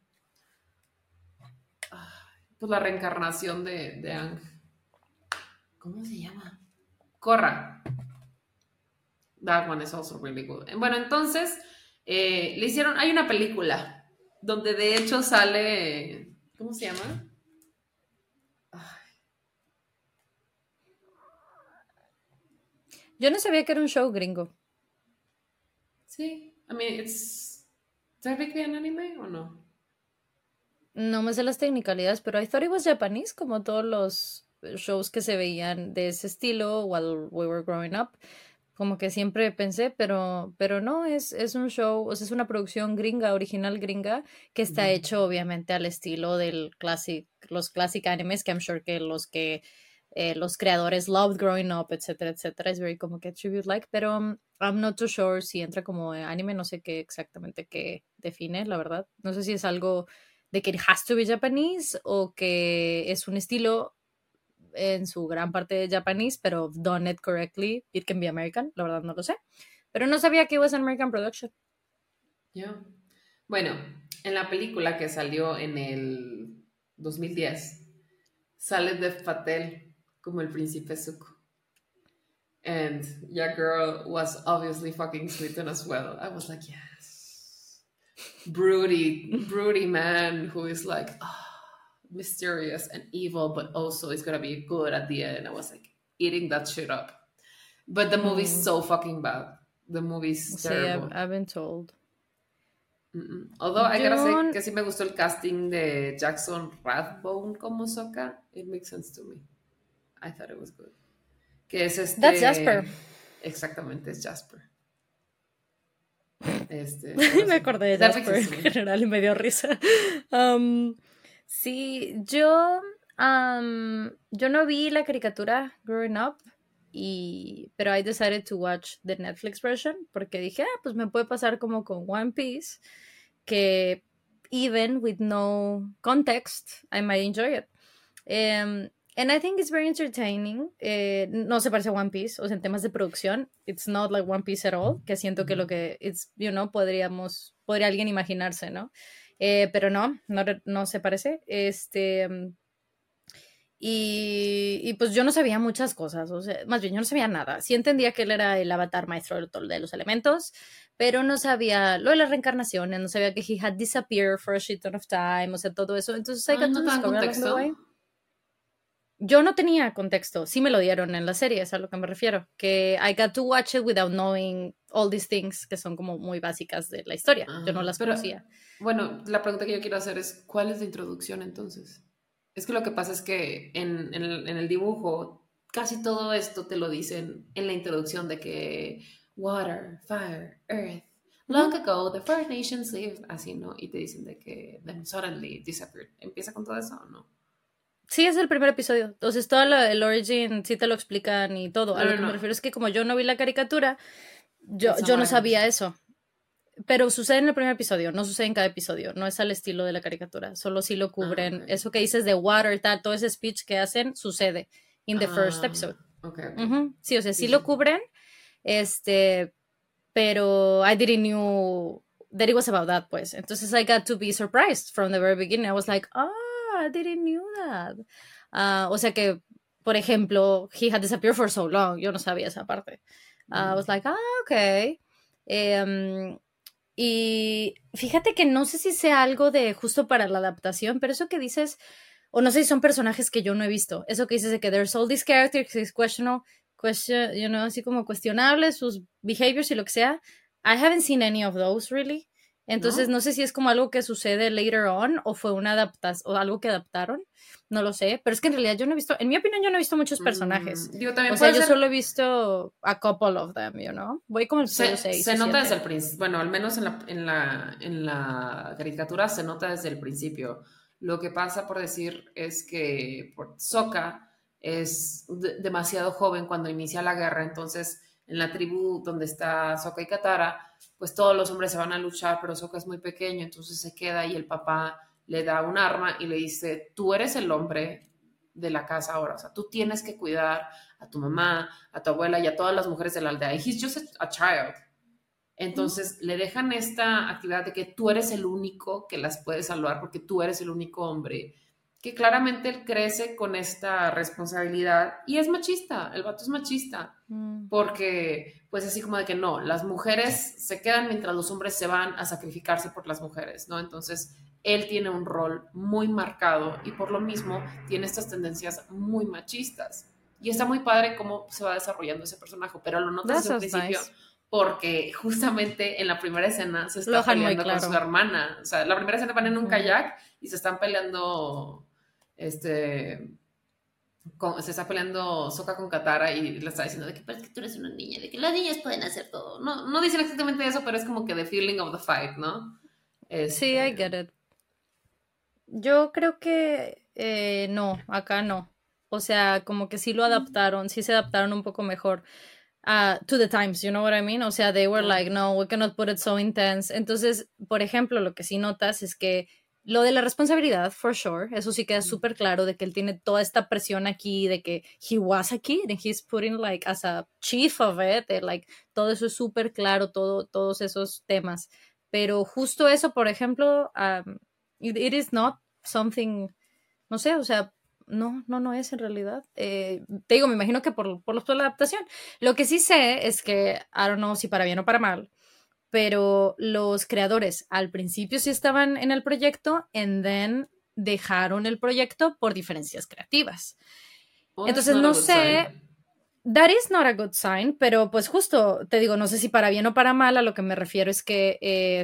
Pues la reencarnación de Ang. ¿Cómo se llama? Korra. That one is also really good. Bueno, entonces le hicieron, hay una película donde de hecho sale, ¿cómo se llama? Yo no sabía que era un show gringo. Sí, I mean, it's technically an anime o no? No me sé las technicalidades, pero I thought it was Japanese, como todos los shows que se veían de ese estilo while we were growing up. Como que siempre pensé, pero no, es un show, o sea, es una producción gringa, original gringa, que está hecho obviamente al estilo los classic animes, que I'm sure que los creadores loved growing up, etcétera, etcétera. Es very como que tribute-like, pero I'm not too sure si entra como anime, no sé qué exactamente qué define, la verdad. No sé si es algo de que it has to be Japanese o que es un estilo en su gran parte japonés, pero done it correctly, it can be American, la verdad no lo sé. Pero no sabía que was an American production. Yeah. Bueno, en la película que salió en el 2010, sale Dev Patel como el príncipe Zuko. And your girl was obviously fucking smitten as well. I was like, yes. Broody man who is like, mysterious and evil, but also is gonna be good at the end. I was like eating that shit up. But the movie's so fucking bad. The movie's terrible. Sí, I've been told. Although I gotta say que sí me gustó el casting de Jackson Rathbone como Sokka. It makes sense to me. I thought it was good. Que es That's Jasper. Exactamente, es Jasper. Me acordé de Jasper en general y me dio risa. Sí, yo no vi la caricatura Growing Up, pero I decided to watch the Netflix version porque dije, pues me puede pasar como con One Piece, que even with no context, I might enjoy it. And I think it's very entertaining. No se parece a One Piece, o sea, en temas de producción, it's not like One Piece at all, que siento que lo que it's, podría alguien imaginarse, ¿no? Pero no se parece. Y pues yo no sabía muchas cosas, o sea, más bien yo no sabía nada. Sí entendía que él era el avatar maestro de los elementos, pero no sabía lo de las reencarnaciones, no sabía que he had disappeared for a shit ton of time, o sea, todo eso. Entonces I got to discover along the way. Yo no tenía contexto, sí me lo dieron en la serie, es a lo que me refiero, que I got to watch it without knowing all these things que son como muy básicas de la historia, yo no las conocía. Bueno, la pregunta que yo quiero hacer es, ¿cuál es la introducción entonces? Es que lo que pasa es que en el dibujo casi todo esto te lo dicen en la introducción de que water, fire, earth, long ago the First Nations lived, así, ¿no? Y te dicen de que then suddenly disappeared. ¿Empieza con todo eso o no? Sí, es el primer episodio. Entonces, todo el origin sí te lo explican y todo. A lo que me refiero es que como yo no vi la caricatura, yo no sabía eso. Pero sucede en el primer episodio, no sucede en cada episodio. No es al estilo de la caricatura. Solo sí lo cubren. Okay. Eso que dices de water, tal, todo ese speech que hacen, sucede in the first episode. Okay. Sí, o sea, sí lo cubren. Pero I didn't knew that it was about that, pues. Entonces I got to be surprised from the very beginning. I was like, I didn't knew that. O sea que, por ejemplo, he had disappeared for so long. Yo no sabía esa parte. I was like, okay. Y fíjate que no sé si sea algo de justo para la adaptación, pero eso que dices, o no sé si son personajes que yo no he visto. Eso que dices de que there's all these characters, it's así como cuestionables, sus behaviors y lo que sea. I haven't seen any of those, really. Entonces, no sé si es como algo que sucede later on o fue una adaptación o algo que adaptaron. No lo sé. Pero es que en realidad yo no he visto, en mi opinión, yo no he visto muchos personajes. También o sea, yo solo he visto a couple of them, Voy como el episodio 6. Se nota desde el principio. Bueno, al menos en la caricatura se nota desde el principio. Lo que pasa, por decir, es que Sokka es demasiado joven cuando inicia la guerra, entonces en la tribu donde está Sokka y Katara, pues todos los hombres se van a luchar, pero Sokka es muy pequeño, entonces se queda y el papá le da un arma y le dice, tú eres el hombre de la casa ahora, o sea, tú tienes que cuidar a tu mamá, a tu abuela y a todas las mujeres de la aldea. He's just a child. Entonces le dejan esta actividad de que tú eres el único que las puede salvar porque tú eres el único hombre, que claramente él crece con esta responsabilidad y es machista, el vato es machista, porque pues así como de que no, las mujeres se quedan mientras los hombres se van a sacrificarse por las mujeres, ¿no? Entonces él tiene un rol muy marcado y por lo mismo tiene estas tendencias muy machistas. Y está muy padre cómo se va desarrollando ese personaje, pero lo notas That desde un sounds principio nice. porque justamente en la primera escena se Lo está dejan muy peleando con su claro. hermana. O sea, la primera escena van en un Ujú. kayak y se están peleando, se está peleando Sokka con Katara y le está diciendo de que, pero es que tú eres una niña, de que las niñas pueden hacer todo. No, no dicen exactamente eso, pero es como que the feeling of the fight, ¿no? Sí, I Este, get it. Yo creo que no, acá no. O sea, como que sí lo adaptaron, sí se adaptaron un poco mejor to the times, you know what I mean? O sea, they were like, ah, no, we cannot put it so intense. Entonces, por ejemplo, lo que sí notas es que lo de la responsabilidad, for sure, eso sí queda súper claro de que él tiene toda esta presión aquí, de que he was a kid and he's putting like as a chief of it, like todo eso es súper claro, todos esos temas. Pero justo eso, por ejemplo, it is not something, no sé, o sea, no es en realidad. Te digo, me imagino que por la adaptación. Lo que sí sé es que, I don't know si para bien o para mal, pero los creadores al principio sí estaban en el proyecto and then dejaron el proyecto por diferencias creativas. well, that's Entonces not a no good sign. sé, that is not a good sign, pero pues justo te digo, no sé si para bien o para mal, a lo que me refiero es que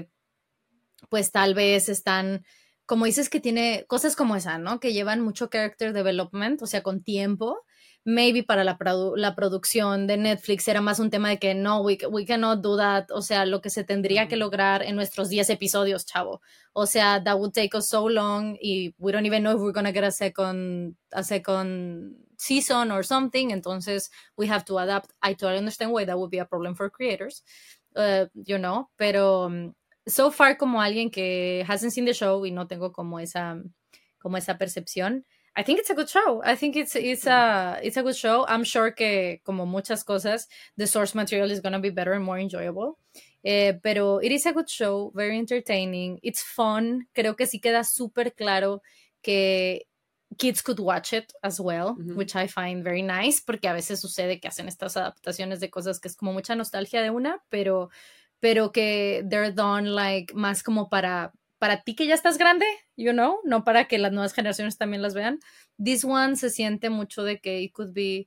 pues tal vez están, como dices que tiene cosas como esa, ¿no? Que llevan mucho character development, o sea, con tiempo. Maybe para la producción de Netflix era más un tema de que no, we cannot do that, o sea, lo que se tendría que lograr en nuestros 10 episodios, chavo. O sea, that would take us so long y we don't even know if we're gonna get a second season or something, entonces we have to adapt. I totally understand why that would be a problem for creators, you know, pero so far como alguien que hasn't seen the show y no tengo como esa percepción, I think it's a good show. I think it's a good show. I'm sure que como muchas cosas, the source material is going to be better and more enjoyable. Pero it is a good show, very entertaining. It's fun. Creo que sí queda súper claro que kids could watch it as well, which I find very nice, porque a veces sucede que hacen estas adaptaciones de cosas que es como mucha nostalgia de una, pero que they're done like más como para ti que ya estás grande, you know, no para que las nuevas generaciones también las vean. This one se siente mucho de que it could be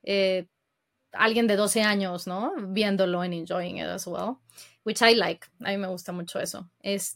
alguien de 12 años, ¿no? Viéndolo and enjoying it as well, which I like. A mí me gusta mucho eso.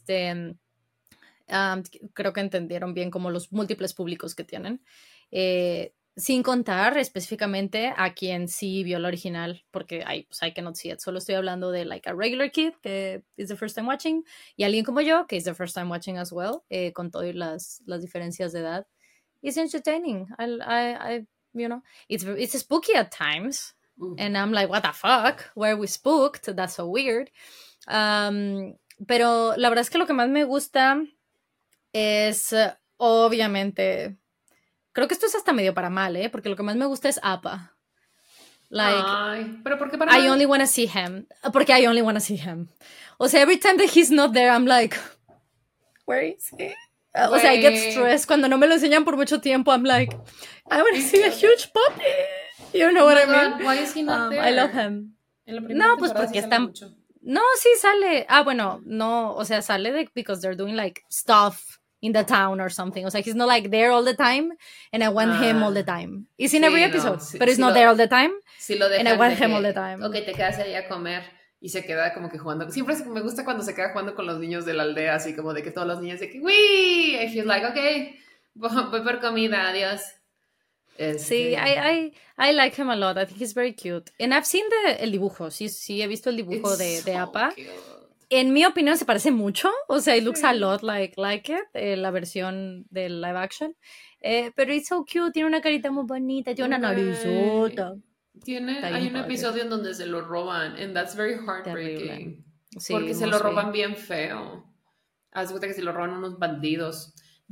Creo que entendieron bien como los múltiples públicos que tienen. Sin contar específicamente a quien sí vio la original, porque pues, I cannot see it. Solo estoy hablando de like a regular kid que is the first time watching y alguien como yo que is the first time watching as well, con todas las diferencias de edad. It's entertaining. You know, it's spooky at times, and I'm like, what the fuck? Why are we spooked? That's so weird. Pero la verdad es que lo que más me gusta es obviamente, creo que esto es hasta medio para mal, porque lo que más me gusta es Appa. Like, Ay, pero ¿por qué para I mal? only want to see him, porque I only want to see him. O sea, every time that he's not there, I'm like, where is he? O sea, I get stressed cuando no me lo enseñan por mucho tiempo. I'm like, I want to see a huge puppy. You know what I mean? Why is he not there? I love him. En la No, primera pues temporada sí porque sale está. mucho. No, sí sale. Bueno, no, o sea, sale de because they're doing like stuff in the town or something. O sea, he's not like there all the time, and I want him all the time. He's in every Sí, no, episode, but he's not there all the time, sí lo and I dejan want de him all the que, time. ok, te quedas ahí a comer y se queda como que jugando. Siempre me gusta cuando se queda jugando con los niños de la aldea, así como de que todos los niños de que, ¡wii! And he's like, ok, voy por comida, adiós. Sí, I like him a lot. I think he's very cute. And I've seen el dibujo. Sí, he visto el dibujo It's de so Appa. cute. En mi opinión se parece mucho. O sea, it looks a lot like it, la versión del live action. Pero it's so cute. Tiene una carita muy bonita. Tiene una narizota. Está Hay bien un padre. episodio en donde se lo roban, and that's very Terrible. heartbreaking. Sí, Porque se muy lo sweet. roban bien feo. Haz de cuenta que se lo roban unos bandidos.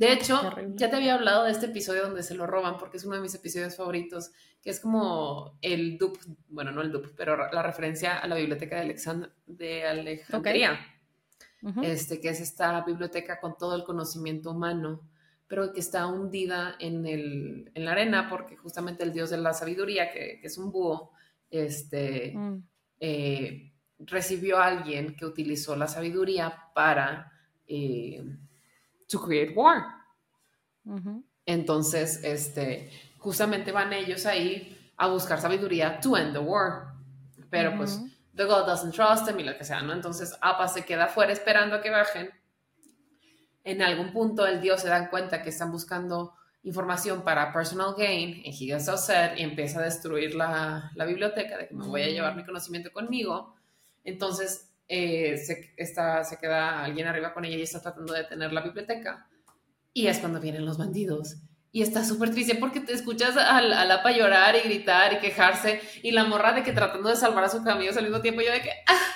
De hecho, Terrible. ya te había hablado de este episodio donde se lo roban porque es uno de mis episodios favoritos, que es como el dupe, bueno, no el dupe, pero la referencia a la biblioteca de Ok. Alejandría, Ujú. que es esta biblioteca con todo el conocimiento humano, pero que está hundida en la arena porque justamente el dios de la sabiduría, que es un búho, este, Mm, recibió a alguien que utilizó la sabiduría para eh, to create war. ujú, Entonces, justamente van ellos ahí a buscar sabiduría to end the war. Pero pues, ujú. the God doesn't trust them y lo que sea, ¿no? Entonces, Appa se queda afuera esperando a que bajen. En algún punto, el dios se dan cuenta que están buscando información para personal gain, and he gets upset y empieza a destruir la biblioteca, de que me voy a llevar mi Mm. conocimiento conmigo. Entonces, se queda alguien arriba con ella y está tratando de detener la biblioteca. Y es cuando vienen los bandidos. Y está súper triste porque te escuchas al Apa llorar y gritar y quejarse. Y la morra de que tratando de salvar a sus amigos al mismo tiempo. Yo de que,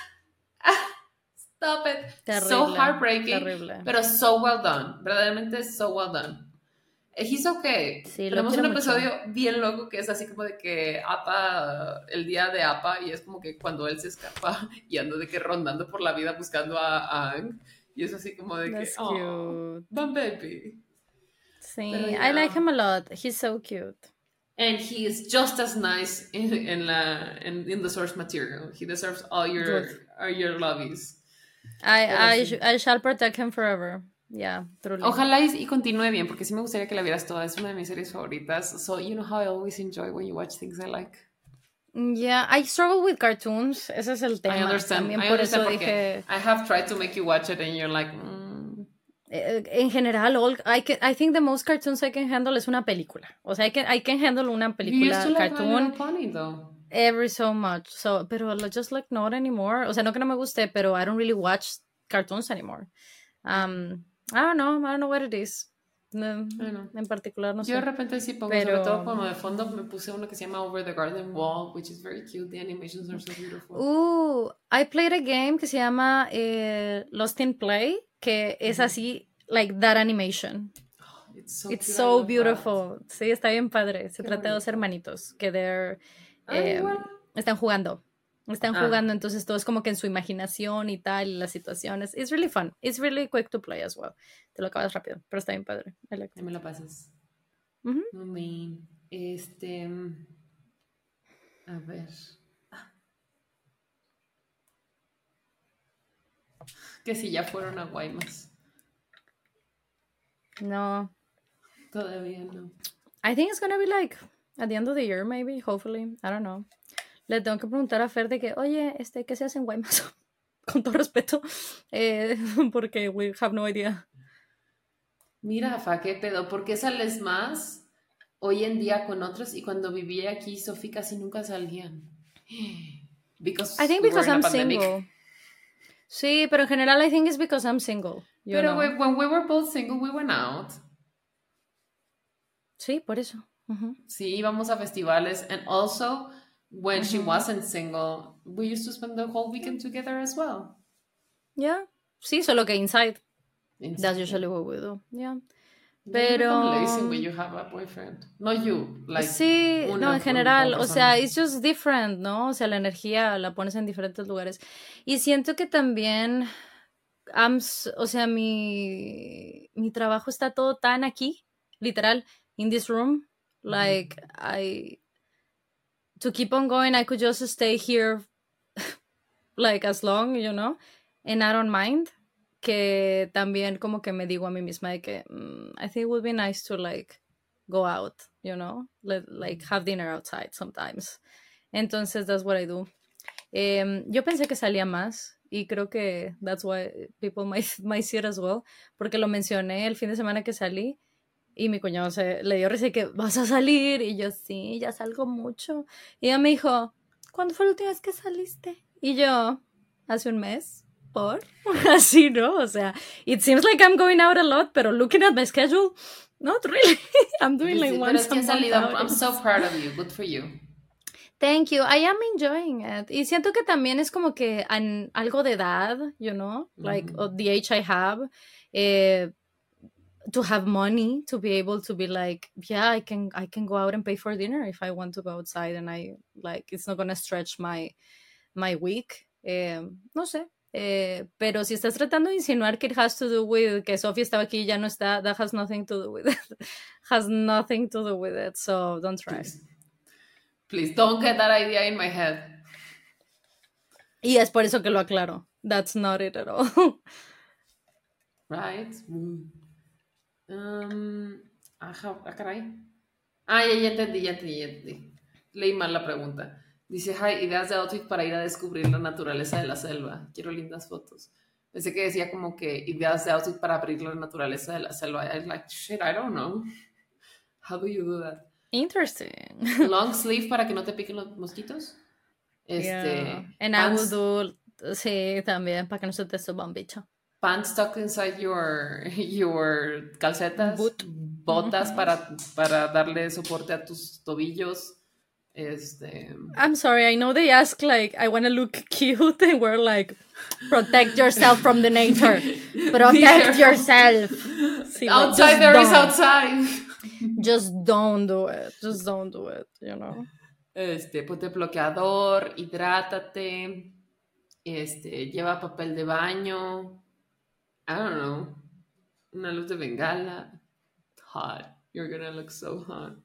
stop it. So Terrible, heartbreaking, terrible. pero so well done. Verdaderamente so well done. He's okay. Sí, lo Tenemos quiero un mucho. episodio bien loco que es así como de que Apa, el día de Apa, y es como que cuando él se escapa y anda de que rondando por la vida buscando a Ang. Y es así como de que, That's oh, cute. my baby. Pero Sí, I like ya. him a lot. He's so cute. And he is just as nice in the source material. He deserves Good. all your lovies. I Pero I sí. I shall protect him forever. Yeah, truly. Ojalá y continúe bien, porque sí me gustaría que la vieras toda. Es una de mis series favoritas. So, you know how I always enjoy when you watch things I like. Yeah, I struggle with cartoons. Ese es el tema. También I por understand eso porque dije, I have tried to make you watch it and you're like, en general, I think the most cartoons I can handle es una película. O sea, I can handle una you used to película like My Little cartoon Pony though. every so much. So, pero just like not anymore. O sea, no que no me guste, pero I don't really watch cartoons anymore. I don't know. I don't know what it is. No, Bueno, en particular, no yo de sé. repente sí pongo, sobre todo Pero, como de fondo, me puse uno que se llama Over the Garden Wall, which is very cute. The animations are so beautiful. I played a game que se llama Lost in Play, que es así, like that animation. It's so It's cute. I so love that. beautiful. Sí, está bien padre. Se Qué trata de dos bonito. hermanitos que Ah, eh, igual. están jugando. Están Ah, jugando, entonces todo es como que en su imaginación y tal, y las situaciones. It's really fun. It's really quick to play as well. Te lo acabas rápido, pero está bien padre. I liked ahí it. me la pasas. Ujú. No me. A ver. Que si ya fueron a Guaymas. No. Todavía no. I think it's gonna be like at the end of the year, maybe, hopefully. I don't know. Le tengo que preguntar a Fer de que, oye, ¿qué se hace en Guaymas? Con todo respeto, porque we have no idea. Mira, Fa, qué pedo. ¿Por qué sales más hoy en día con otros y cuando vivía aquí, Sofía casi nunca salían? I Because think we were because in a I'm pandemic. single. Sí, pero en general I think it's because I'm single, you Pero know. when we were both single, we went out. Sí, por eso. Ujú, Sí, íbamos a festivales. And also, when she ujú. wasn't single, we used to spend the whole weekend together as well. Yeah. Sí, solo que inside. That's Inside, yeah. usually what we do. Yeah. Yeah, you become lazy when Pero you have a boyfriend. Not you, like sí, no, en uno como general, o persona. sea, it's just different, ¿no? O sea, la energía la pones en diferentes lugares. Y siento que también, o sea, mi trabajo está todo tan aquí, literal, in this room. Like, to keep on going, I could just stay here, like, as long, you know, and I don't mind. Que también como que me digo a mí misma de que I think it would be nice to, like, go out, you know, like, have dinner outside sometimes. Entonces, that's what I do. Yo pensé que salía más y creo que that's why people might see it as well, porque lo mencioné el fin de semana que salí y mi cuñado le dio risa y que vas a salir y yo sí, ya salgo mucho. Y ella me dijo, ¿cuándo fue la última vez que saliste? Y yo, hace un mes, ¿por? Así, ¿no? O sea, it seems like I'm going out a lot, pero looking at my schedule, not really. I'm doing like Pero es once a que has month salido. I'm outings. so proud of you. Good for you. Thank you. I am enjoying it. Y siento que también es como que algo de edad, you know, like the age I have. Eh, to have money to be able to be like, yeah, I can go out and pay for dinner if I want to go outside, and I like it's not gonna stretch my week. No sé. Pero si estás tratando de insinuar que it has to do with que Sofía estaba aquí y ya no está, that has nothing to do with it. Has nothing to do with it, so don't try. Please don't get that idea in my head. Y es por eso que lo aclaro. That's not it at all. Right? Caray. Ya entendí. Leí mal la pregunta. Dice, hi, ideas de outfit para ir a descubrir la naturaleza de la selva. Quiero lindas fotos. Pensé que decía como que ideas de outfit para abrir la naturaleza de la selva. I was like, shit, I don't know. How do you do that? Interesting. Long sleeve para que no te piquen los mosquitos. Yeah. And I will do, sí, también, para que no se te suba un bicho. Pants tucked inside your calcetas. Boot. Botas para darle soporte a tus tobillos. I'm sorry, I know they ask like, I want to look cute, and we're like, protect yourself from the nature. Protect yourself. Sí, outside there is outside. Just don't do it. Just don't do it, you know. Ponte bloqueador, hidrátate, lleva papel de baño, I don't know, una luz de bengala. Hot. You're gonna look so hot.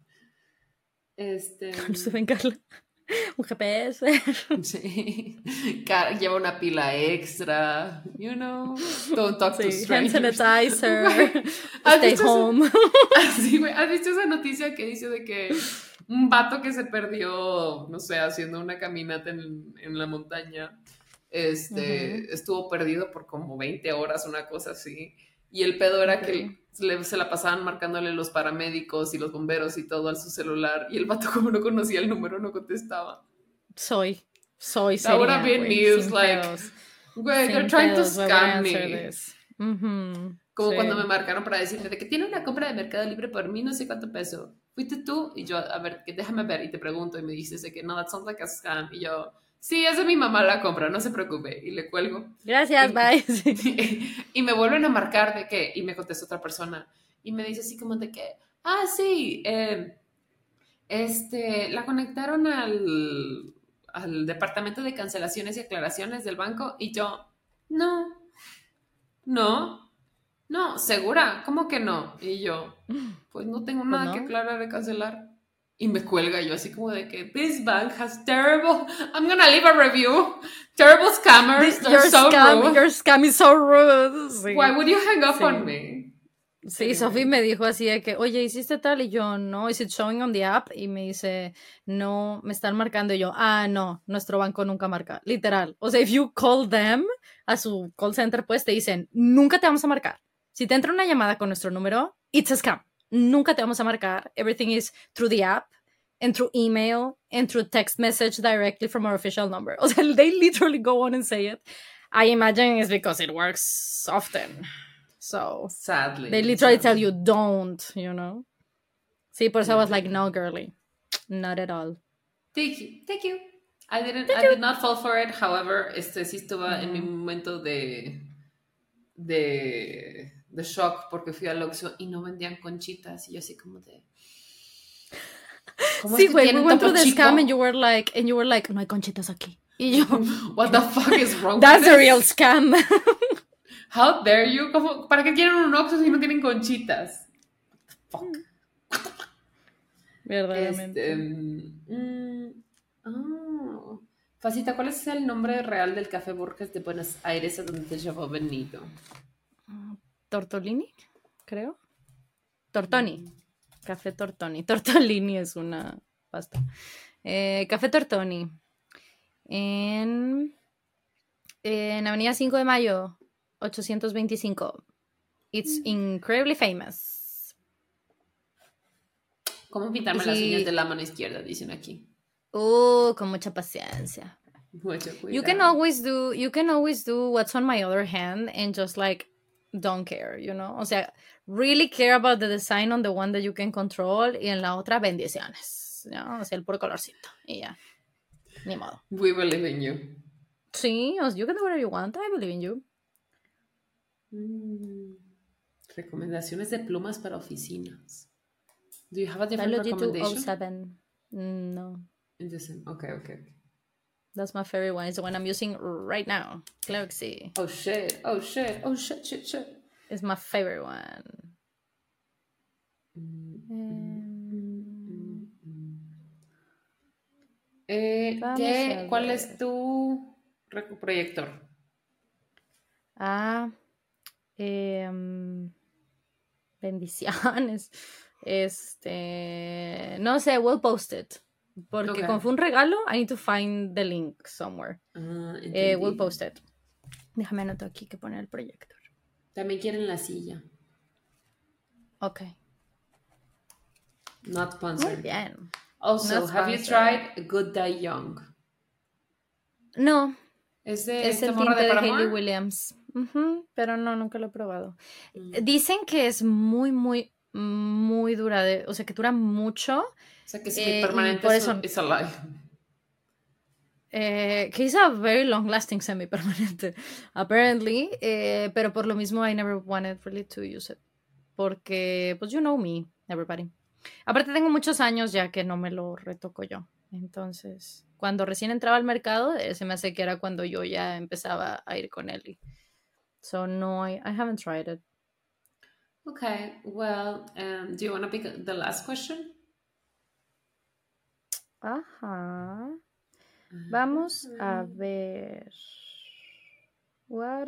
Luz de bengala. Un GPS. Sí. Lleva una pila extra, you know. Don't talk to strangers. Hand sanitizer. Stay home. Así, güey. ¿Has visto esa noticia que dice de que un vato que se perdió, no sé, haciendo una caminata en la montaña, estuvo perdido por como 20 horas, una cosa así? Y el pedo era que se la pasaban marcándole los paramédicos y los bomberos y todo a su celular. Y el vato, como no conocía el número, no contestaba. Soy That would have been news, like, güey, they're trying to scam me. Como cuando me marcaron para decirme de que tiene una compra de Mercado Libre por mí no sé cuánto peso. ¿Fuiste tú? Y yo, a ver, déjame ver. Y te pregunto y me dices de que no, that sounds like a scam. Y yo, sí, es de mi mamá la compra, no se preocupe. Y le cuelgo. Gracias, bye. Y me vuelven a marcar de que, y me contesta otra persona. Y me dice así como de que, sí, la conectaron al departamento de cancelaciones y aclaraciones del banco. Y yo, no, ¿segura? ¿Cómo que no? Y yo, pues no tengo nada que aclarar de cancelar. Y me cuelga yo así como de que this bank has terrible, I'm gonna leave a review, terrible scammers, they're so rude. Your scam is so rude. Sí. Why would you hang up on me? Sí, Sophie me dijo así de que, oye, ¿hiciste tal? Y yo, no, is it showing on the app? Y me dice, no, me están marcando. Y yo, no, nuestro banco nunca marca. Literal. O sea, if you call them, a su call center, pues te dicen, nunca te vamos a marcar. Si te entra una llamada con nuestro número, it's a scam. Nunca te vamos a marcar. Everything is through the app, and through email, and through text message directly from our official number. O sea, they literally go on and say it. I imagine it's because it works often. So, sadly, they literally tell you don't, you know. Sí, por eso I was like, no, girly, not at all. Thank you. I did not fall for it. However, sí estuvo en mi momento de shock porque fui al Oxxo y no vendían conchitas y yo así como de. Sí, güey, we went through the scam and you were like, no hay conchitas aquí. Y yo, what the fuck is wrong? That's a real scam. How dare you? ¿Para qué quieren un Oxxo si no tienen conchitas? Fuck. Verdaderamente. Facita, ¿cuál es el nombre real del Café Borges de Buenos Aires a donde te llevó Benito? Tortolini, creo. Tortoni. Café Tortoni. Tortolini es una pasta. Café Tortoni. En Avenida 5 de Mayo, 825. It's incredibly famous. ¿Cómo pintarme las uñas de la mano izquierda? Dicen aquí. Con mucha paciencia. Mucho cuidado. You can always do what's on my other hand and just like don't care, you know? O sea, really care about the design on the one that you can control y en la otra bendiciones, ¿no? O sea, el puro colorcito y ya. Ni modo. We believe in you. Sí, you can do whatever you want. I believe in you. Recomendaciones de plumas para oficinas. Do you have a different Biology recommendation? 207. No. Okay. That's my favorite one. It's the one I'm using right now. Claro que sí. Oh shit. It's my favorite one. ¿Cuál es tu proyector? Bendiciones. No sé, we'll post it. Porque como fue un regalo, I need to find the link somewhere. We'll post it. Déjame anotar aquí que poner el proyector. También quieren la silla. Ok. Not sponsored. Muy bien. Also, have you tried Good Die Young? No. Es el tinte de Hayley Williams. Pero no, nunca lo he probado. Dicen que es muy, muy, muy duradero. O sea, que dura mucho. O sea, que semi-permanente es alive. Que es a very long-lasting semi-permanente, apparently. Pero por lo mismo, I never wanted really to use it. Porque, pues, you know me, everybody. Aparte, tengo muchos años ya que no me lo retoco yo. Entonces, cuando recién entraba al mercado, se me hace que era cuando yo ya empezaba a ir con él. So, no, I haven't tried it. Okay, well, do you want to pick the last question? Ajá. Vamos a ver. What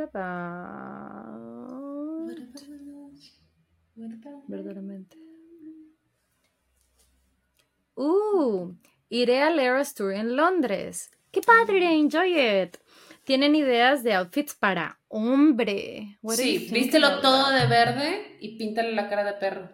about? Verdaderamente. Iré al Eras Tour en Londres. ¡Qué padre! Enjoy it. ¿Tienen ideas de outfits para hombre? Sí, vístelo todo de verde y píntale la cara de perro.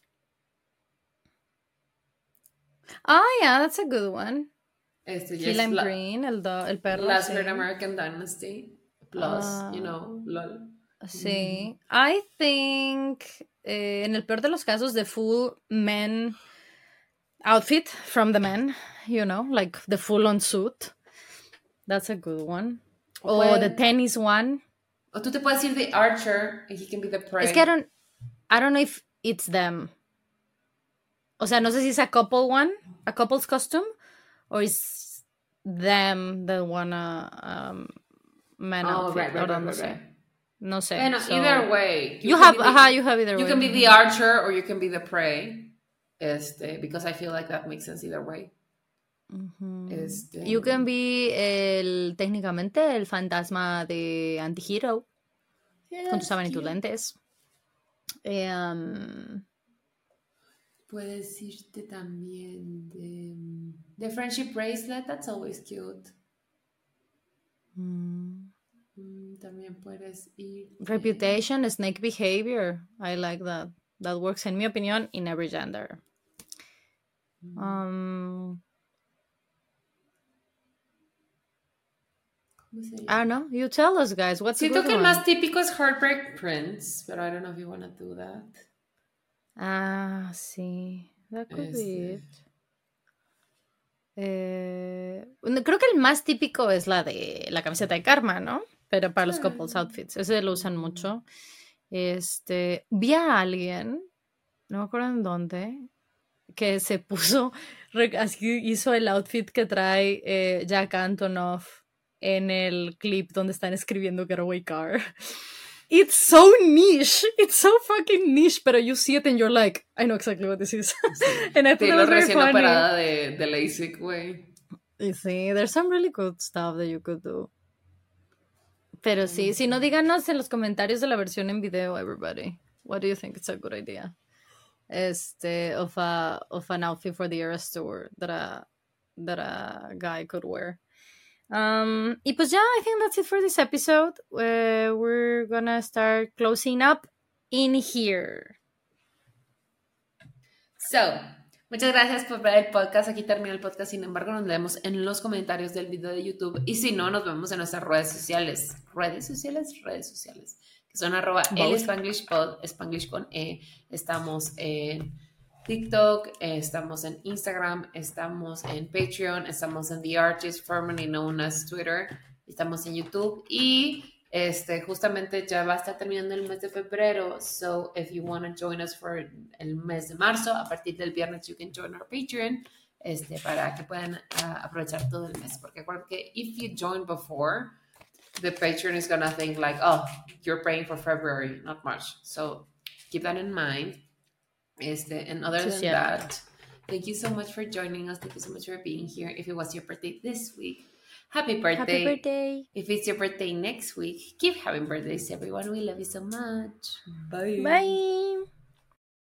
Oh, yeah, that's a good one. Key Lime Green, el perro. Last Great American Dynasty. Plus, LOL. Sí. I think, en el peor de los casos, the full men outfit from the men, like the full-on suit. That's a good one. O the tennis one. O tú te puedes ir de Archer and he can be the prey. Es que I don't know if it's them. O sea, no sé si es a couple's costume, or is them that wanna man outfit. Right. No sé. Bueno, either way. You have either way. You can be the Archer or you can be the prey. Because I feel like that makes sense either way. You can be técnicamente el fantasma de Antihero. Con tus y tus lentes. Puedes irte también de Friendship Bracelet, that's always cute. También puedes ir. Reputation, Snake Behavior. I like that. That works, en mi opinión, in every gender. I don't know. You tell us, guys. What's Siento que el más típico es Heartbreak Prince, but I don't know if you want to do that. Sí. That could be it. Creo que el más típico es la de la camiseta de Karma, ¿no? Pero para los couples outfits. Ese lo usan mucho. Vi a alguien, no me acuerdo en dónde, que se puso, así hizo el outfit que trae Jack Antonoff en el clip donde están escribiendo Getaway Car. It's so niche. It's so fucking niche, pero you see it and you're like, I know exactly what this is. And I thought it was very recién operada de LASIK, güey. Sí, there's some really good stuff that you could do. Pero sí, si no, díganos en los comentarios de la versión en video, everybody. What do you think it's a good idea? Of an outfit for the Eras Tour that a guy could wear. Y pues ya, I think that's it for this episode. We're gonna start closing up in here. So, muchas gracias por ver el podcast. Aquí termina el podcast. Sin embargo, nos vemos en los comentarios del video de YouTube. Y si no, nos vemos en nuestras redes sociales. Redes sociales. Que son @elspanglishpod, Spanglish con E. Estamos en TikTok, estamos en Instagram, estamos en Patreon, estamos en The Artist, formerly known as Twitter, estamos en YouTube y Justamente ya va a estar terminando el mes de febrero, so if you want to join us for el mes de marzo, a partir del viernes you can join our Patreon, para que puedan aprovechar todo el mes, porque acuerdo que if you join before, the Patreon is gonna think like, oh, you're paying for February, not March, so keep that in mind. And other Sí, than cierto. that, thank you so much for joining us. Thank you so much for being here. If it was your birthday this week, happy birthday. Happy birthday. If it's your birthday next week, keep having birthdays, everyone. We love you so much. Bye. Bye.